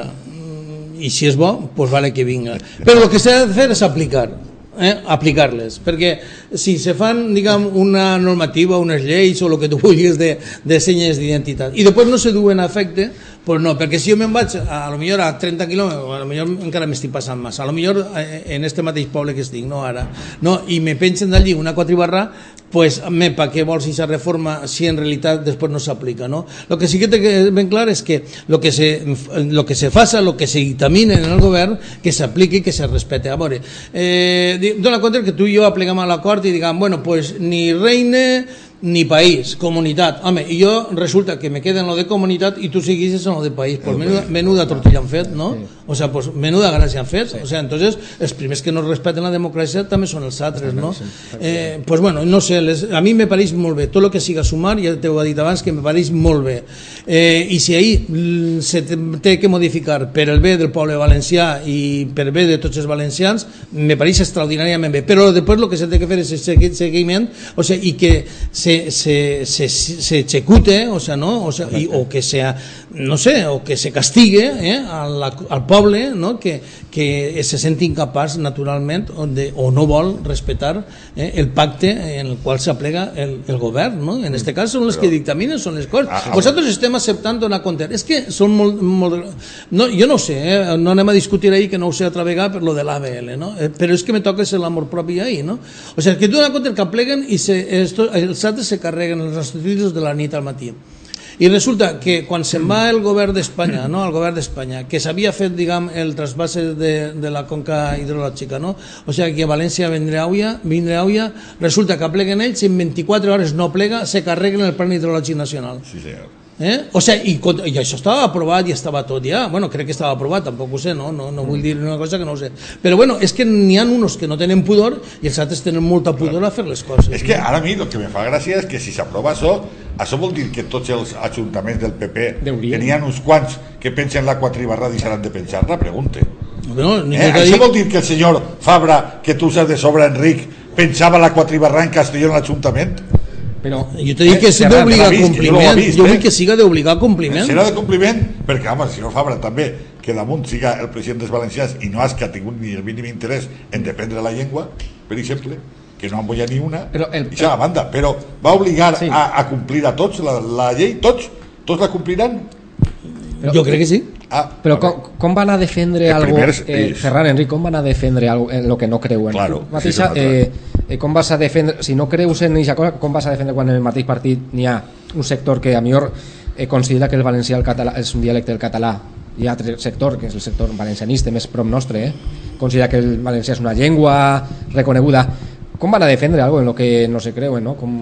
i si és bo, pues vale que vinga. Però el que s'ha de fer és aplicar. Eh, aplicar-les, perquè si se fan, diguem, una normativa, unes lleis o el que tu vulguis de, de senyes d'identitat i després no se duen a efecte, pues no, perquè si jo me'n vaig a, a lo millor a trenta quilòmetres, a lo millor encara m'estic passant massa, a lo millor en este mateix poble que estic, no ara, no, i me pensen d'allí una quatribarra, pues, me, pa què vols aquesta reforma si en realitat després no s'aplica, no? Lo que sí que té ben clar és que lo que se, lo que se faça, lo que se dictamine en el govern, que s'apliqui i que se respete. A veure, eh, dona compte que tu i jo aplicam a l'acord i diguem, bueno, pues ni reine ni país, comunitat. Home, i jo resulta que me queda en lo de comunitat i tu seguisses en lo de país. Pues menuda, menuda tortilla han fet, no? O sea, pues menuda gràcia han fet. O sea, entonces, els primers que no respeten la democràcia també són els altres, no? Eh, pues bueno, no sé, les, a mi me pareix molt bé. Tot el que siga sumar, ja t'ho he dit abans, que me pareix molt bé. Eh, I si ahir se té que modificar per el bé del poble valencià i per bé de tots els valencians, me pareix extraordinàriament bé. Però després el que s'ha de fer és el seguiment, o sea, i que se se, se, se execute, o sea, no, o, sea, y, o que sea, no sé, o que se castigue eh, al, al poble, no, que, que se senti incapaç naturalment o, de, o no vol respetar eh, el pacte en el qual s'aplega el, el govern, no? En este cas són les que dictaminen, són les coses. Ah, Vosaltres estem acceptant donar compte. És que són molt, molt no, jo no ho sé, eh, no anem a discutir ahir que no ho sé altra vegada per lo de l'A B L, no? Eh, però és que me toca ser l'amor propi ahir, no? O sigui, que tu donar compte que apleguen i se, esto, els altres se carreguen els instituts de la nit al matí. I resulta que quan se'n va el govern d'Espanya, no, el govern d'Espanya, que s'havia fet, diguem, el trasbase de, de la conca hidrològica, no? O sigui, que València vindrà auia, vindrà auia, resulta que pleguen ells i en vint-i-quatre hores no plega, se carreguen el plan hidrològic nacional. Sí, senyor. Eh? O sigui, i, i això estava aprovat i estava tot ja, bueno, crec que estava aprovat, tampoc ho sé, no, no, no vull dir una cosa que no ho sé, però bueno, és que n'hi ha uns que no tenen pudor i els altres tenen molta pudor a fer les coses. És que ara a mi el que me fa gràcia és que si s'aprova això, això vol dir que tots els ajuntaments del P P tenien uns quants que pensen la quatribarra deixaran de pensar-la, pregunte. No, eh? Això dit... vol dir que el senyor Fabra, que tu saps de sobre, Enric, pensava la quatribarra en Castelló en l'Ajuntament? Però jo t'he dit que és d'obligar compliment, jo vull que siga d'obligar compliment. Serà de compliment, perquè home, el senyor Fabra també, que damunt siga el president dels valencians i no has que ha tingut ni el mínim interès en dependre la llengua, per exemple, que no en volia ni una, i això a banda, però va obligar sí. a, a complir a tots la, la llei, tots, tots la compliran? Però, jo crec que sí. Ah, però com, com van a defendre algo, eh, Ferran, Enric, com van a defendre algo en lo que no creuen? Claro, mateixa, sí, eh, eh, com vas a defendre, si no creus en aquesta cosa, com vas a defendre quan en el mateix partit n'hi ha un sector que a millor eh, considera que el valencià el català, és un dialecte del català, hi ha altre sector, que és el sector valencianista més prop nostre, eh, considera que el valencià és una llengua reconeguda. Com van a defendre algo en lo que no se creuen, no? Com,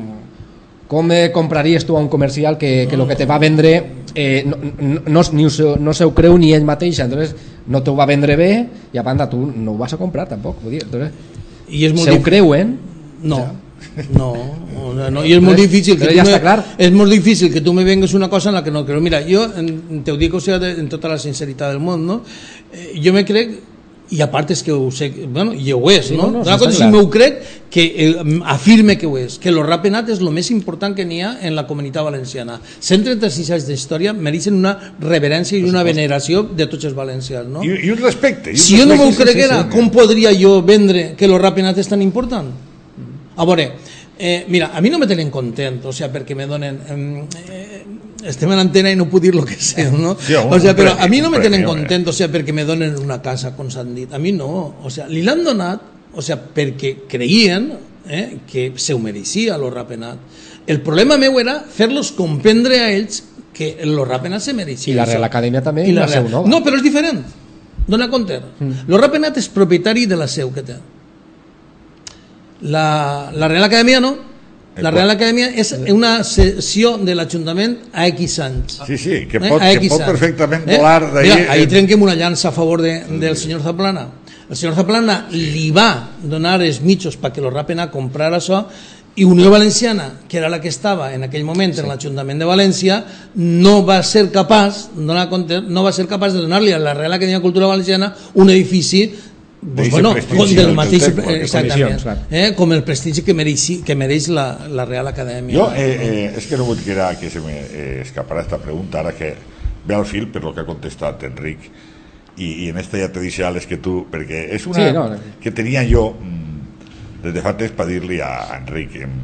com eh, compraries tu a un comercial que, que lo que te va vendre eh, no, no, no, ni ho, no se ho creu ni ell mateix, entonces no t'ho va vendre bé i a banda tu no ho vas a comprar tampoc, vull dir, entonces, I és molt se ho creuen? No, o sea, no, no, no, i és molt difícil que tu ja me, clar. és molt difícil que tu me vengues una cosa en la que no creo. Mira, jo te ho dic, o sea, de, en tota la sinceritat del món, no? Eh, jo me crec, i a part és que ho sé, bueno, i ho és, sí, no? no, no una cosa, si m'ho crec, que eh, afirme que ho és, que lo rapenat és el més important que n'hi ha en la comunitat valenciana. cent trenta-sis anys d'història mereixen una reverència i una veneració de tots els valencians, no? I, i un respecte. I un si jo no m'ho respecte, creguera, sí, sí, sí. Com podria jo vendre que lo rapenat és tan important? A veure, eh, mira, a mi no me tenen content, o sea, perquè me donen... Eh, estem en antena i no puc dir el que sé, no? Sí, o sea, però a mi no me tenen content, o sea, perquè me donen una casa, com s'han dit. A mi no, o sea, li l'han donat, o sea, perquè creien eh, que se ho mereixia lo rapenat. El problema meu era fer-los comprendre a ells que el Rapenat se mereixia. I la Real Acadèmia també, i la seu nova. No, però és diferent. Dona compte. Mm. El Rapenat és propietari de la seu que té. La, la Real Acadèmia no. La Real Acadèmia és una sessió de l'Ajuntament a X anys. Sí, sí, que pot, eh? que pot perfectament volar eh? d'ahir. Ahir trenquem una llança a favor de, del senyor Zaplana. El senyor Zaplana li va donar els mitjos perquè el Rapenat comprara això, i Unió Valenciana, que era la que estava en aquell moment en l'Ajuntament de València, no va ser capaç, no va ser capaç de donar-li a la Real Acadèmia de Cultura Valenciana un edifici pues bueno, del mateix, exactament, eh, com el prestigi que mereix, que mereix la, la Real Acadèmia. Jo, eh, eh, és que no vull que, era, que se me eh, escapara esta pregunta, ara que ve al fil per lo que ha contestat Enric, i, i en esta ja te deixo les que tu, perquè és una sí, no, no. que tenia jo des de fa temps per dir-li a Enric eh,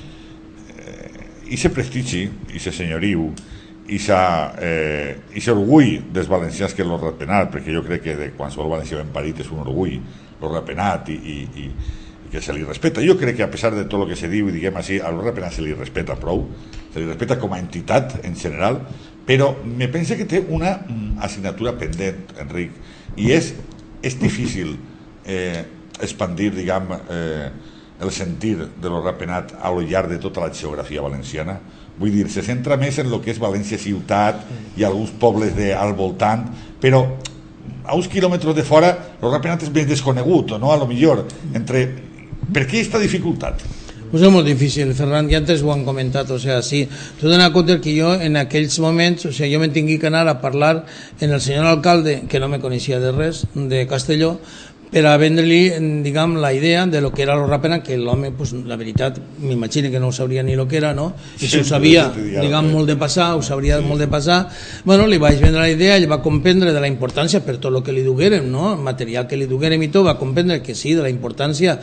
i se prestigi, i se senyoriu, i aquest eh, orgull dels valencians que és el Rapenat, perquè jo crec que de qualsevol valencià ben parit és un orgull el Rapenat i, i, i, i que se li respeta. Jo crec que a pesar de tot el que se diu i diguem així, al Rapenat se li respeta prou, se li respeta com a entitat en general, però me pensa que té una assignatura pendent, Enric, i és, és difícil eh, expandir, diguem, eh, el sentir de lo Rapenat a lo llarg de tota la geografia valenciana. Vull dir, se centra més en el que és València ciutat i alguns pobles de, al voltant, però a uns quilòmetres de fora el Rapenat és ben desconegut, no? A lo millor, entre... Per què aquesta dificultat? Pues és molt difícil, Ferran, ja antes ho han comentat, o sea, sí, tu dones compte que jo en aquells moments, o sea, jo me tingui que anar a parlar en el senyor alcalde, que no me coneixia de res, de Castelló, per a vendre-li, diguem, la idea de lo que era el Rapenat, que l'home, pues, la veritat, m'imagino que no ho sabria ni lo que era, no? I si ho sabia, diguem, molt de passar, ho sabria molt de passar, bueno, li vaig vendre la idea, ell va comprendre de la importància per tot el que li duguérem, no? El material que li duguérem i tot, va comprendre que sí, de la importància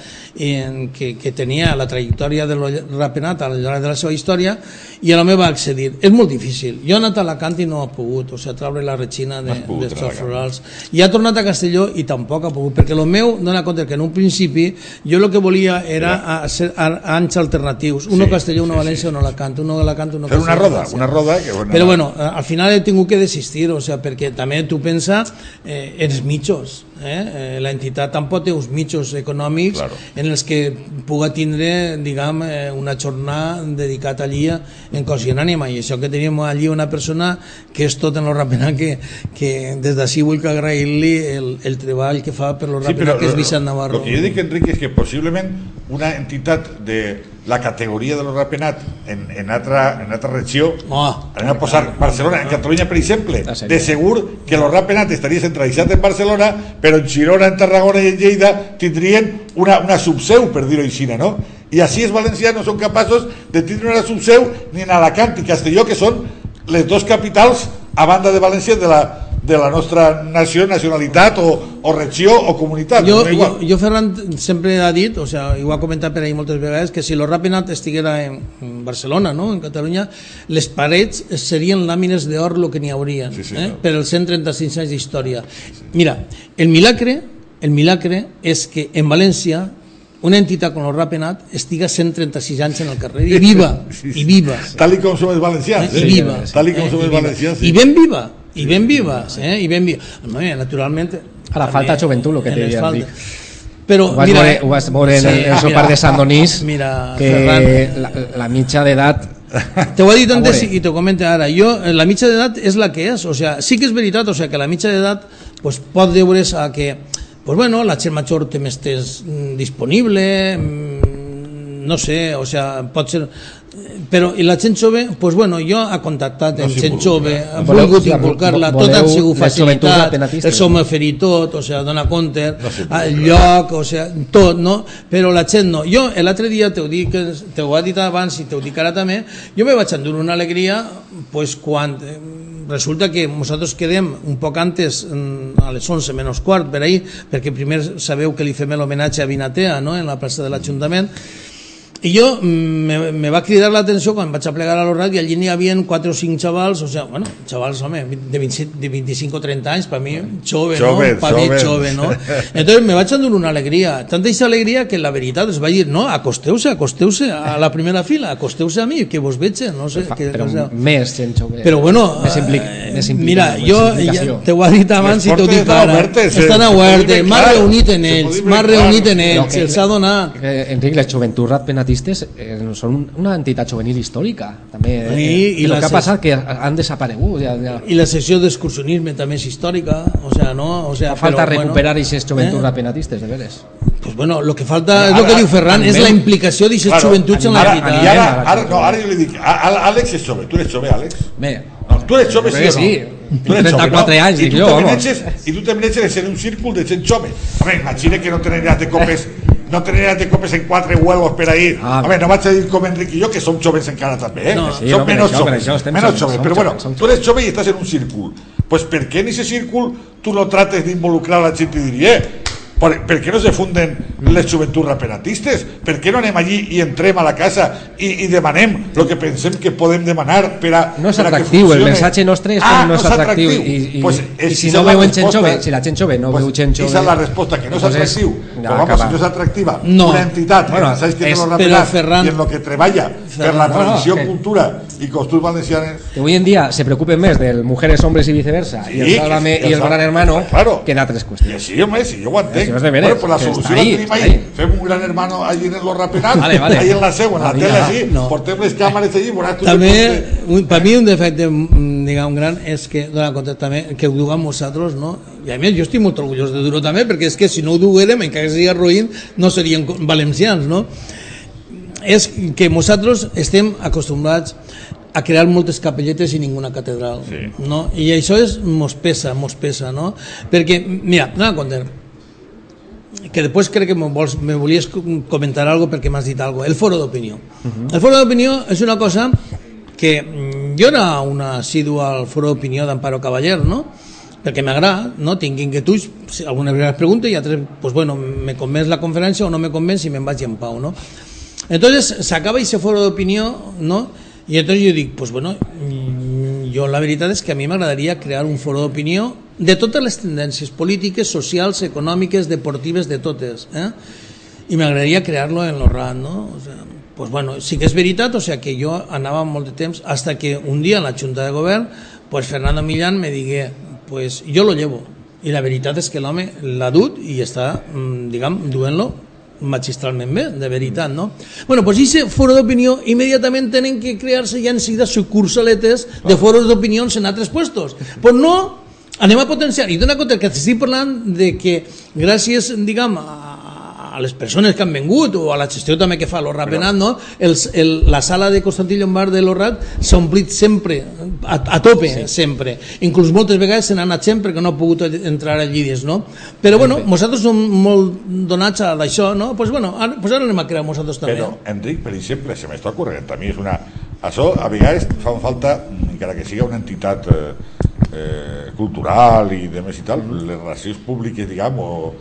en que, que tenia la trajectòria del Rapenat al llarg de la seva història, i l'home va accedir. És molt difícil. Jo he anat a Alacant i no ha pogut, o sigui, traure la retxina de, dels florals. I ha tornat a Castelló i tampoc ha pogut, perquè el meu dona compte que en un principi jo el que volia era a, ser a, a anys alternatius, uno sí, Castelló, uno sí, València, sí. uno Alacant, uno Alacant, uno Castelló. Fer una roda, una roda que bueno, però bueno, al final he tingut que desistir, o sea, perquè també tu pensa eh, els mitjos, eh? La entitat tampoc té uns mitjos econòmics claro. En els que puga tindre, diguem, una jornada dedicat allí en cos i en ànima, i això que tenim allí una persona que és tot en el Rapenat, que, que des d'ací vull que agrair-li el, el treball que fa per el Rapenat, sí, però, que és Vicent Navarro. El que jo dic, Enric, és que possiblement una entitat de la categoria de lo Rapenat en, en, altra, en altra regió, oh, anem a posar Barcelona, en Catalunya, per exemple, de segur que lo Rapenat estaria centralitzat en Barcelona, però en Girona, en Tarragona i en Lleida tindrien una, una subseu, per dir-ho així, no? I així els valencians no són capaços de tindre una subseu ni en Alacant i Castelló, que són les dos capitals a banda de València de la, de la nostra nació, nacionalitat o, o regió o comunitat. Jo, no jo, jo Ferran sempre ha dit, o sea, i ho ha comentat per ahí moltes vegades, que si el Rapenat estiguera en, en Barcelona, no? En Catalunya, les parets serien làmines d'or el que n'hi hauria, sí, sí, eh? No. Per els cent trenta-cinc anys d'història. Mira, el milagre, el milagre és que en València una entitat com el Rapenat estiga cent trenta-sis anys en el carrer i viva, sí, sí. I viva. Tal i com som els valencians. I viva. Tal i com som els valencians. I ben viva. I ben viva, eh? I ben viva. Naturalment... Ara falta joventut, el que te diria Enric. Però, ho vas mira, veure, ho vas veure en el, el ah, sopar de Sant Donís, mira, que Ferran, la, la mitja d'edat... Te ho he dit antes i te ho comento ara. Jo, la mitja d'edat és la que és. O sea, sí que és veritat, o sea, que la mitja d'edat pues, pot deure's a que pues bueno, la gent major té més temps disponible, no sé, o sea, pot ser... Però i la gent jove, pues bueno, jo ha contactat amb no gent jove, ha volgut inculcar-la, tot han sigut facilitat, el som ferit tot, o sea, dona compte, no el lloc, o sea, tot, no? Però la gent no. Jo l'altre dia te ho dic, te ho ha dit abans i te ho dic ara també, jo me vaig endur una alegria, pues quan resulta que nosaltres quedem un poc antes, a les onze menys quart per ahir, perquè primer sabeu que li fem l'homenatge a Vinatea, no?, en la plaça de l'Ajuntament. I jo me, me va cridar l'atenció quan vaig a plegar a l'Orrat i allí n'hi havia quatre o cinc xavals, o sea, bueno, xavals, home, de, veinte, de veinticinco o treinta anys, per mi, jove, Chove, no? Per mi, jove, no? Entonces me vaig endur una alegria, tanta aquesta alegria que la veritat es va dir, no, acosteu-se, acosteu-se a la primera fila, acosteu-se a mi, que vos veig, no sé. Fa, que, però o sea, més gent jove. però bueno, més, implic, eh, més implica, mira, més jo implicació. ja, te ho ha dit abans i t'ho dic ara, estan a Huertes, m'ha reunit en ells, m'ha reunit en ells, se'ls ha donat. Eh, Enric, les joventuts ratpenatistes eh, són una entitat juvenil històrica també, eh, I, i el la que ha ses- passat que han desaparegut ja, ja. I la secció d'excursionisme també és històrica, o sea, no, o sea, Fa falta però, recuperar bueno, aquestes joventuts eh? ratpenatistes, de veres. Pues bueno, lo que falta és Ara- el que diu Ferran, és animem- la implicació d'aquestes Claro, joventuts en la ara, veritat. i ara, ara, no, ara jo li dic, a- a- Àlex és jove, tu eres jove, Àlex? Bé, No, tu eres jove, sí o no? sí. Tu eres trenta-quatre jove, no? anys, I dic tu jo, també vamos. neches- I tu també neches en un círcul de gent jove. Home, imagina que no tenen de copes no tenen de copes en quatre huevos per ahir. Ah, Home, no vaig a dir com Enric i jo, que som joves encara també, eh? No. Sí, som no, per menys això, per joves, això estem menys joves, joves. som Però joves, bueno, som tu eres jove i estàs en un círcul. Pues per què en aquest círcul tu no trates d'involucrar la gent i dir, eh, per, per què no se funden les joventuts raperatistes? Per què no anem allí i entrem a la casa i, i demanem el que pensem que podem demanar per a, no és per a que atractiu, el funcione? mensatge nostre és Ah, que no és atractiu, i, i, pues i és- si esa no és la veuen gent resposta. jove, si la gent jove no Pues veu gent jove, esa és la resposta, que no és pues és- atractiu. ja Però vamos, acaba. si no és atractiva, No. una entitat Bueno, que pensáis que és- no lo però, rapenar Ferran- i en lo que treballa per la no, tradició, que- cultura i costums valencianes. que hoy en día se preocupen más del mujeres, hombres y viceversa, Sí, y el que- Sálvame que y el Sálvame- Gran Hermano, claro. que da tres I cuestiones. així, home, si jo ho entenc. Això és de veres, Bueno, pues la que solució està la ahí, tenim està ahí. ahí. Fem un gran hermano allí en el Rapenat, Vale, vale. ahí en la seu, en la Vale, tele, ja. així, No. portem les càmeres allí, veuràs tu També, que un, per mi un defecte mm, diguem, gran és que, dona compte també, que ho duguem nosaltres, no? I a més jo estic molt orgullós de dur-ho també, perquè és que si no ho duguérem, encara que sigui ruïn, no serien co- valencians, no? És que nosaltres estem acostumbrats a crear moltes capelletes i ninguna catedral, Sí. no? I això és, mos pesa, mos pesa, no? Perquè, mira, dona compte, que després crec que me, vols, me volies comentar algo perquè m'has dit algo. El foro d'opinió. Uh-huh. El foro d'opinió és una cosa que mm, jo era una assidua al foro d'opinió d'Amparo Cavaller, no? Perquè m'agrada, no? Tinc inquietuds, si algunes vegades pregunto i altres, pues bueno, me convenç la conferència o no me convenç i me'n vaig en pau, no? Entonces s'acaba ese foro d'opinió, no? I entonces jo dic, pues bueno, mm, jo la veritat és que a mi m'agradaria crear un foro d'opinió de totes les tendències polítiques, socials, econòmiques, deportives, de totes, eh? I m'agradaria crear-lo en l'Orrat, no? O sea, pues bueno, sí que és veritat, o sea que jo anava molt de temps hasta que un dia en la Junta de Govern, pues Fernando Millán me digué, pues jo lo llevo. I la veritat és que l'home l'ha dut i està, mm, diguem, duent-lo magistralment bé, de veritat, no? Bueno, pues ese foro d'opinió immediatament tenen que crear-se ja enseguida sucursaletes de foros d'opinions en altres puestos. Pues no, anem a potenciar. I dona compte que estic parlant de que gràcies, diguem, a a les persones que han vengut o a la gestió també que fa l'Orrat Penat, no? El, el, la sala de Constantí Llombard de l'Orrat s'ha omplit sempre, a, a tope, sí. sempre. Inclús moltes vegades se n'ha anat gent perquè no ha pogut entrar allí dins, no? Però bueno, nosaltres som molt donats a això, no? Pues bueno, ara, pues ara anem a crear nosaltres també. Però, Enric, per exemple, se m'està ocorrent, a mi és una... Això, a vegades, fan falta, encara que siga una entitat eh, eh, cultural i de més i tal, les relacions públiques, diguem, o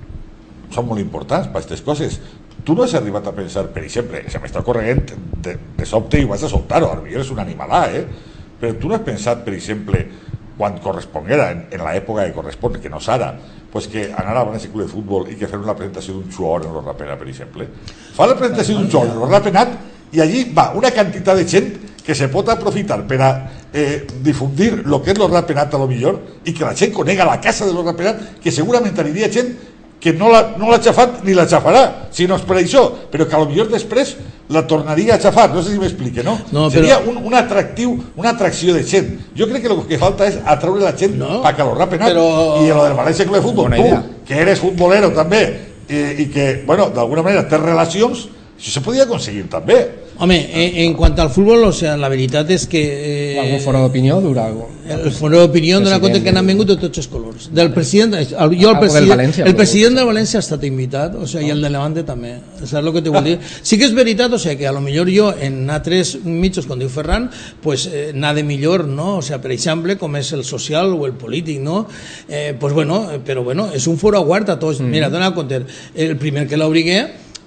són molt importants per aquestes coses. Tu no has arribat a pensar, per exemple, se m'està corregent de, de sobte i vas a soltar-ho, potser és un animalà, eh? Però tu no has pensat, per exemple, quan corresponguera, en, en l'època que correspon, que no és ara, pues que anar a València Club de Futbol i que fer una presentació d'un xuor en l'Orrat Penat, per exemple. Fa la presentació d'un xuor en l'Orrat Penat i allí va una quantitat de gent que se pot aprofitar per a eh, difundir el que és l'Orrat Penat a lo millor i que la gent conega la casa de l'Orrat Penat, que segurament aniria gent que no l'ha no l'ha xafat ni la xafarà, si no és per això, però que a lo millor després la tornaria a xafar, no sé si m'explique, no? No, Seria però- un, un atractiu, una atracció de gent. Jo crec que el que falta és atraure la gent No, pa que l'Orrat Penat però- i lo del València Club de Futbol, Bona tu, idea. que eres futbolero també i, i que, bueno, d'alguna manera tens relacions, això se podia aconseguir també. Home, en, en quant al futbol, o sea, la veritat és que... Eh, Algun foro d'opinió dura algo. el foro d'opinió dona compte que n'han vengut de tots els colors. Del president, el, jo el Algo del president, València, el però- president de València ha estat invitat, o sea, i el de Levante també. Saps el que te vull dir? Sí que és veritat, o sea, que a lo millor jo en altres mitjos, com diu Ferran, pues eh, anar de millor, no? O sea, per exemple, com és el social o el polític, no? Eh, pues bueno, eh, però bueno, és un foro obert a tots. Mm. Mira, dona compte, el primer que l'obrigué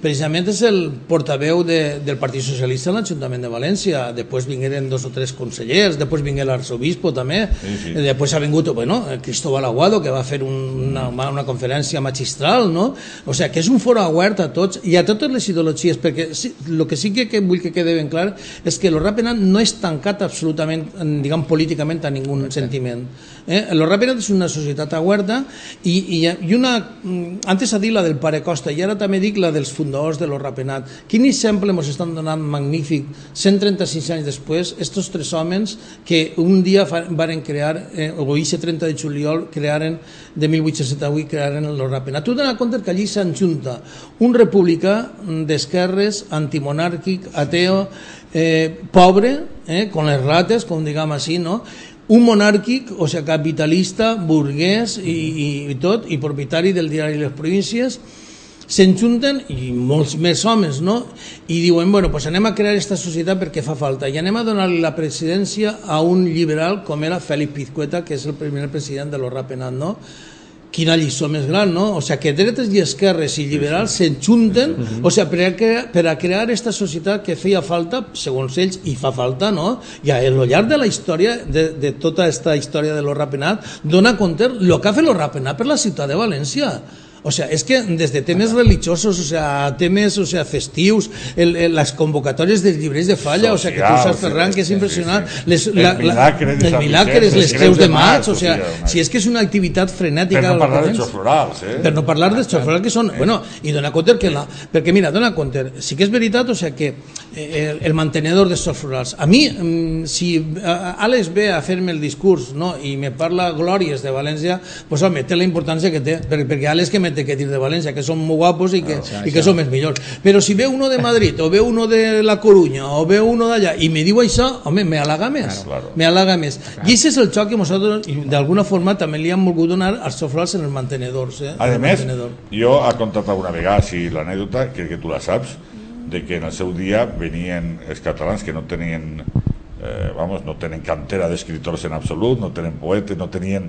precisament és el portaveu de, del Partit Socialista en l'Ajuntament de València. Després vingueren dos o tres consellers, després vingué l'arzobispo també, sí, sí. Després ha vingut bueno, Cristóbal Aguado, que va fer una, una conferència magistral, no? O sigui, que és un foro obert a tots i a totes les ideologies, perquè sí, el que sí que, que vull que quede ben clar és que el Rapenat no és tancat absolutament, diguem, políticament a ningú sentiment. Eh? El Rapenat és una societat oberta i, i, i una... Antes ha dit la del pare Costa i ara també dic la dels fundadors de l'Rapenat. Quin exemple ens estan donant magnífic cent trenta-sis anys després, estos tres homes que un dia varen crear, eh, o aquest trenta de juliol crearen, de mil vuit-cents setanta-vuit crearen l'Rapenat. Tu t'adones compte que allí s'enjunta un republicà d'esquerres, antimonàrquic, ateo, eh, pobre, eh, con les rates, com diguem així, no? Un monàrquic, o sigui, capitalista, burguès i, i, i tot, i propietari del diari Les Províncies, s'enjunten, i molts més homes, no? I diuen, bueno, pues anem a crear aquesta societat perquè fa falta, i anem a donar-li la presidència a un liberal com era Félix Pizcueta, que és el primer president de l'Rapenat, no? Quina lliçó més gran, no? O sigui, que dretes i esquerres i liberals s'enjunten, o sigui, per a, crear, per a crear aquesta societat que feia falta, segons ells, i fa falta, no? I a lo llarg de la història, de, de tota aquesta història de l'Rapenat, dona compte el que ha fet l'Rapenat per la ciutat de València. O sea, es que desde temes religiosos, o sea, temes, o sea, festius, el, el, las convocatorias dels llibres de falla, social, o sea, que tu saps, Ferran, que és impressionant, sí, sí. Les, la, el milagre, la, els milagres, les creus de maig, o sea, si és que és una activitat frenètica. Per no parlar dels xos florals, eh? Per no parlar dels xos florals, que són, bueno, i dona compte que la, perquè mira, dona compte, sí que és veritat, o sea, que el, el mantenedor dels xos florals, a mi, si Àlex ve a fer-me el discurs, no, i me parla glòries de València, pues home, té la importància que té, perquè Àlex que me té que dir de València, que són molt guapos i que, no, i que són els millors. Però si ve uno de Madrid, o ve uno de La Coruña, o ve uno d'allà, i me diu això, home, me halaga més. Claro, claro. Me halaga més. Claro. I aquest és el xoc que nosaltres, d'alguna forma, també li hem volgut donar als xofrals en els mantenedors. Eh? A més, mantenedor. Jo he contat alguna vegada, si l'anècdota, que, que tu la saps, de que en el seu dia venien els catalans que no tenien, eh, vamos, no tenen cantera d'escriptors en absolut, no tenen poetes, no tenien...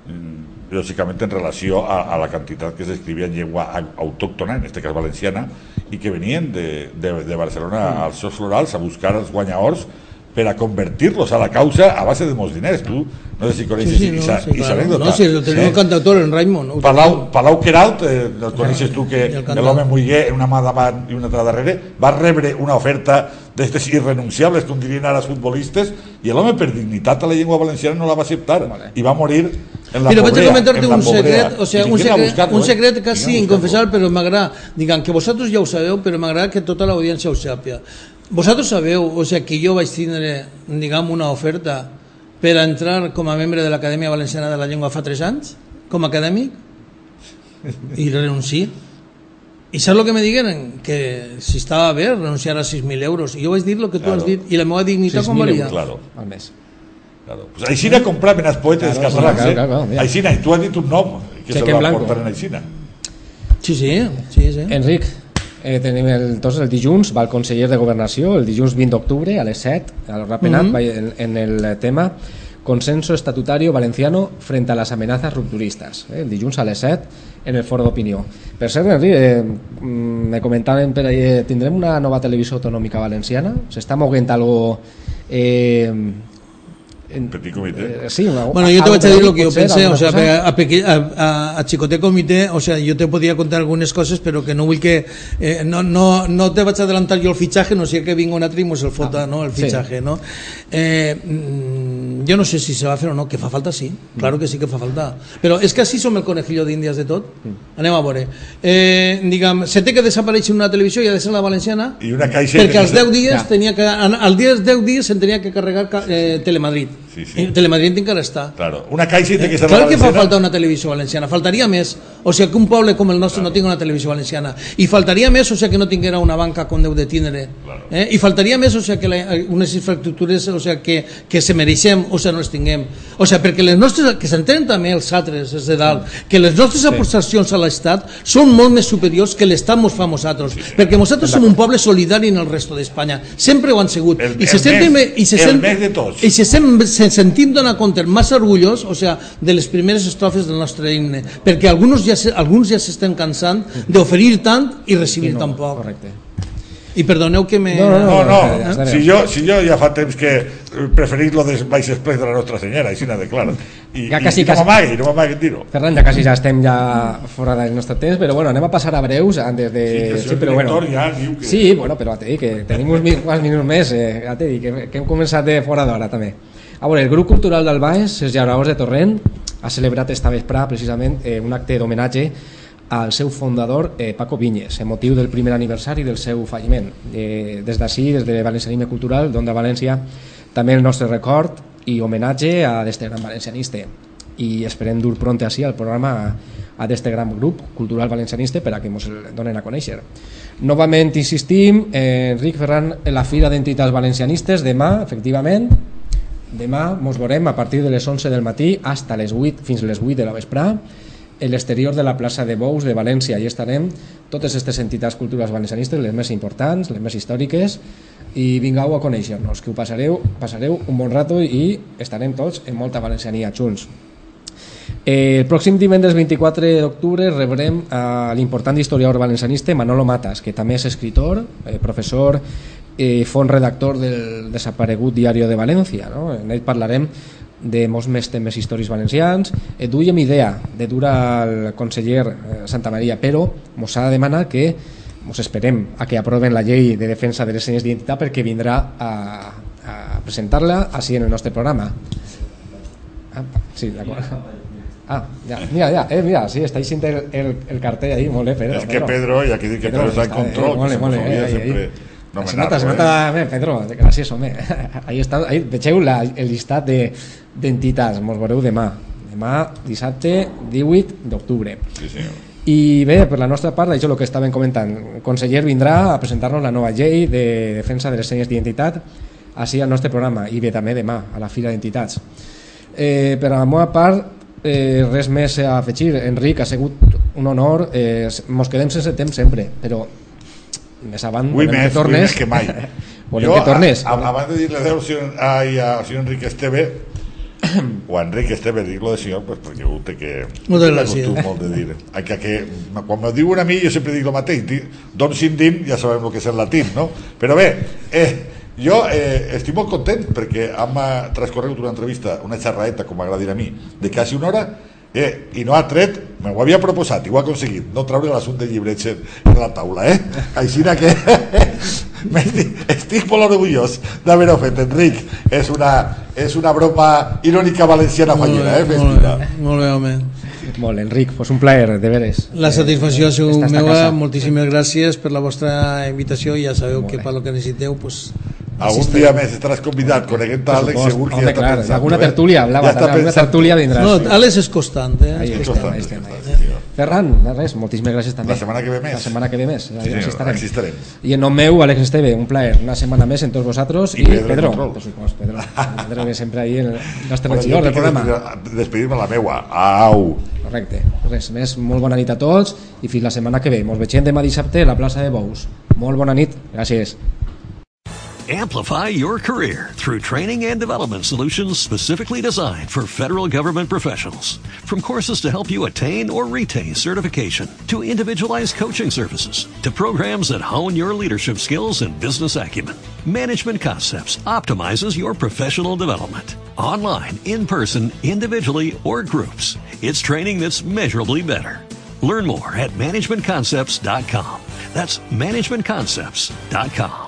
lògicament en relació a, a la quantitat que s'escrivia en llengua autòctona, en aquest cas valenciana, i que venien de, de, de Barcelona als seus florals a buscar els guanyadors per a convertir-los a la causa a base de molts diners. Tu no sé si coneixes sí, sí, no, Isa, sí, claro. Anècdota. No, si el tenia un cantautor, en Raimon. No, Palau, Palau Queralt, eh, el coneixes tu, que l'home muller, una mà davant i una altra darrere, va rebre una oferta d'estes irrenunciables, com dirien ara els futbolistes, i l'home per dignitat a la llengua valenciana no la va acceptar, vale. I va morir en la però pobrea. Però vaig a comentar-te un secret, o sigui, un secret, un secret quasi inconfessable, però m'agrada, diguem que vosaltres ja ho sabeu, però m'agrada que tota l'audiència ho sàpiga. Vosaltres sabeu, o sigui, que jo vaig tindre, diguem, una oferta per a entrar com a membre de l'Acadèmia Valenciana de la Llengua fa tres anys, com a acadèmic, i renuncié. I saps el que me digueren? Que si estava bé renunciar a sis mil euros. I jo vaig dir el que tu claro. has dit, i la meva dignitat com valia. Claro. Al mes. Claro. Pues Aixina compraven els poetes claro, catalans, claro, claro, claro, eh? Aixina, i tu has dit un nom que se va portar en Aixina. Sí, sí, sí, sí. Enric, eh, tenim el, tots el dilluns, va el conseller de Governació, el dilluns vint d'octubre a les set, al Rapenat, mm -hmm. en, en el tema Consenso Estatutario Valenciano frente a las amenazas rupturistas, eh, el dilluns a les set en el foro d'opinió. Per cert, Enric, eh, me comentaven per ahí, tindrem una nova televisió autonòmica valenciana? S'està moguent algo... Eh, en petit comitè. Eh, sí, una, bueno, yo te voy a decir lo que yo pensé, o sea, a, a, a, a Chicoté Comité, o sea, yo te podía contar algunas cosas, pero que no vull que eh, no, no, no te vaig a adelantar yo el fichaje, no sé que vinga una trimos el fota, ah, no, el fichaje, sí. ¿no? Eh, yo no sé si se va a hacer o no, que fa falta sí, claro que sí que fa falta, però és que així som el conejillo d'Índies de tot. Anem a veure. Eh, diguem, se té que desaparèixer una televisió i ha de ser la valenciana, i una caixa perquè als deu dies ja. tenia que, als deu dies se'n tenia que carregar eh, Telemadrid. Sí, sí. Telemadrid encara està. Claro. Una caixa i té que ser eh, clar que fa falta una televisió valenciana, faltaria més, o sigui que un poble com el nostre claro. no tingui una televisió valenciana, i faltaria més, o sigui que no tinguera una banca com deu de tindre, claro. eh? i faltaria més, o sigui que la, unes infraestructures, o sigui que, que se mereixem, o sigui no les tinguem, o sigui perquè les nostres, que s'entenen també els altres, els de dalt, que les nostres sí. aportacions a l'Estat són molt més superiors que l'Estat mos fa a nosaltres, sí, sí. perquè nosaltres som un poble solidari en el resto d'Espanya, sempre ho han sigut, el, i se el, sempre, més, i se el sempre, més de tots, i se sempre se sentim donar compte massa orgullós, o sea, de les primeres estrofes del nostre himne, perquè alguns ja se, alguns ja s'estan cansant d'oferir tant i recibir no, tan poc. Correcte. I perdoneu que me... No, no, No, no, eh? si jo, si jo ja fa temps que preferís lo dels baix express de la Nostra Senyora, així de clar. I, Ja i, quasi, i no quasi. m'amagui, no m'amagui dir-ho. Ferran, ja quasi ja estem ja fora del nostre temps, però bueno, anem a passar a breus antes de... Sí, que el senyor però bueno. director ja diu que... Sí, bueno, però t'he dit que tenim uns mi- quants minuts més, eh, ja t'he dit que, que hem començat de fora d'hora també. A veure, el grup cultural del Baix, els Llauradors de Torrent, ha celebrat esta vesprà precisament eh, un acte d'homenatge al seu fundador eh, Paco Vinyes, en motiu del primer aniversari del seu falliment. Eh, des d'ací, des de Valencianisme Cultural d'Onda València, també el nostre record i homenatge a d'este gran valencianista, i esperem dur pront així al programa a d'este gran grup cultural valencianista per a que ens el donen a conèixer. Novament insistim, eh, Enric Ferran, en la Fira d'Entitats Valencianistes demà, efectivament, demà ens veurem a partir de les onze del matí hasta les vuit, fins les vuit de la vesprà, en l'exterior de la plaça de Bous de València. Hi estarem totes aquestes entitats culturals valencianistes, les més importants, les més històriques, i vingueu a conèixer-nos, que ho passareu, passareu un bon rato i estarem tots en molta valenciania junts. El pròxim divendres vint-i-quatre d'octubre rebrem a l'important historiador valencianista Manolo Matas, que també és escritor, eh, professor, eh, font redactor del desaparegut Diario de València, no? En ell parlarem de molts més temes històrics valencians. Eh, duíem idea de dur al conseller eh, Santa Maria, però mos ha de demanar que mos esperem a que aproven la llei de defensa de les senyes d'identitat, perquè vindrà a, a presentar-la així en el nostre programa. Ah, sí, d'acord. Ah, ja, mira, ja, eh, mira, sí, està així el, el, el cartell ahí, molt bé, Pedro. És que Pedro, i aquí dic que Pedro està en control, eh, molt bé, que se molt nos bé, olvida eh, sempre ahí. Se nomenar-lo, nota, se eh? nota, bé, Pedro, gràcies, home. Ahí està, ahí, vegeu la, el llistat de, d'entitats, mos veureu demà. Demà, dissabte, divuit d'octubre. Sí, senyor. I bé, per la nostra part, això és el que estàvem comentant. El conseller vindrà a presentar-nos la nova llei de defensa de les senyes d'identitat així al nostre programa, i bé, també demà, a la Fira d'Entitats. Eh, per a la meva part, eh, res més a afegir. Enric, ha sigut un honor, eh, mos quedem sense temps sempre, però més avant Avui volem més, que tornes. avui més que mai. Volem que tornes. A, a, abans de dir-li adeu ai, a senyor Enric Esteve, o a Enric Esteve, dic-lo de senyor, pues, perquè ho té que... Moltes gràcies. Molt de dir. Que, que, quan me diuen a mi, jo sempre dic el mateix, don sin din, ja sabem el que és el latín, no? Però bé, eh, jo eh, estic molt content perquè hem transcorregut una entrevista, una xerraeta, com m'agrada dir a mi, de quasi una hora, eh, i no ha tret, me ho havia proposat i ho ha aconseguit, no treure l'assumpte de llibreig en la taula, eh? Així que estic, estic molt orgullós d'haver-ho fet, Enric. És una, és una broma irònica valenciana fallera, eh? Molt bé, molt bé, home. Molt, Enric, pues un plaer, de veres. La satisfacció ha sigut Esta esta meva, casa. moltíssimes gràcies per la vostra invitació, i ja sabeu que per lo que necessiteu, pues, Algun dia més estaràs convidat, coneguent Àlex, segur que Home, ja està clar, pensant. alguna eh? tertúlia, hablava, Ja està alguna pensant. tertúlia vindrà. no, sí. Àlex és constant, eh? Ahí És estem, constant, ahí és estem, constant, ahí. sí, senyor. Ferran, res, moltíssimes gràcies també. La setmana que ve més. La setmana que ve més. Sí, Així senyor, estarem. així estarem. I en nom meu, Àlex Esteve, un plaer, una setmana més en tots vosaltres, I i, Pedro Pedro, Control. per supost, Pedro, Pedro que sempre ahí el nostre Bueno, regidor jo del tinc que programa. despedir- despedir-me la meua. Au! Correcte, res més, molt bona nit a tots i fins la setmana que ve. Ens veiem demà dissabte a la plaça de Bous. Molt bona nit, gràcies. Amplify your career through training and development solutions specifically designed for federal government professionals. From courses to help you attain or retain certification, to individualized coaching services, to programs that hone your leadership skills and business acumen, Management Concepts optimizes your professional development. Online, in person, individually, or groups, it's training that's measurably better. Learn more at management concepts dot com. That's management concepts dot com.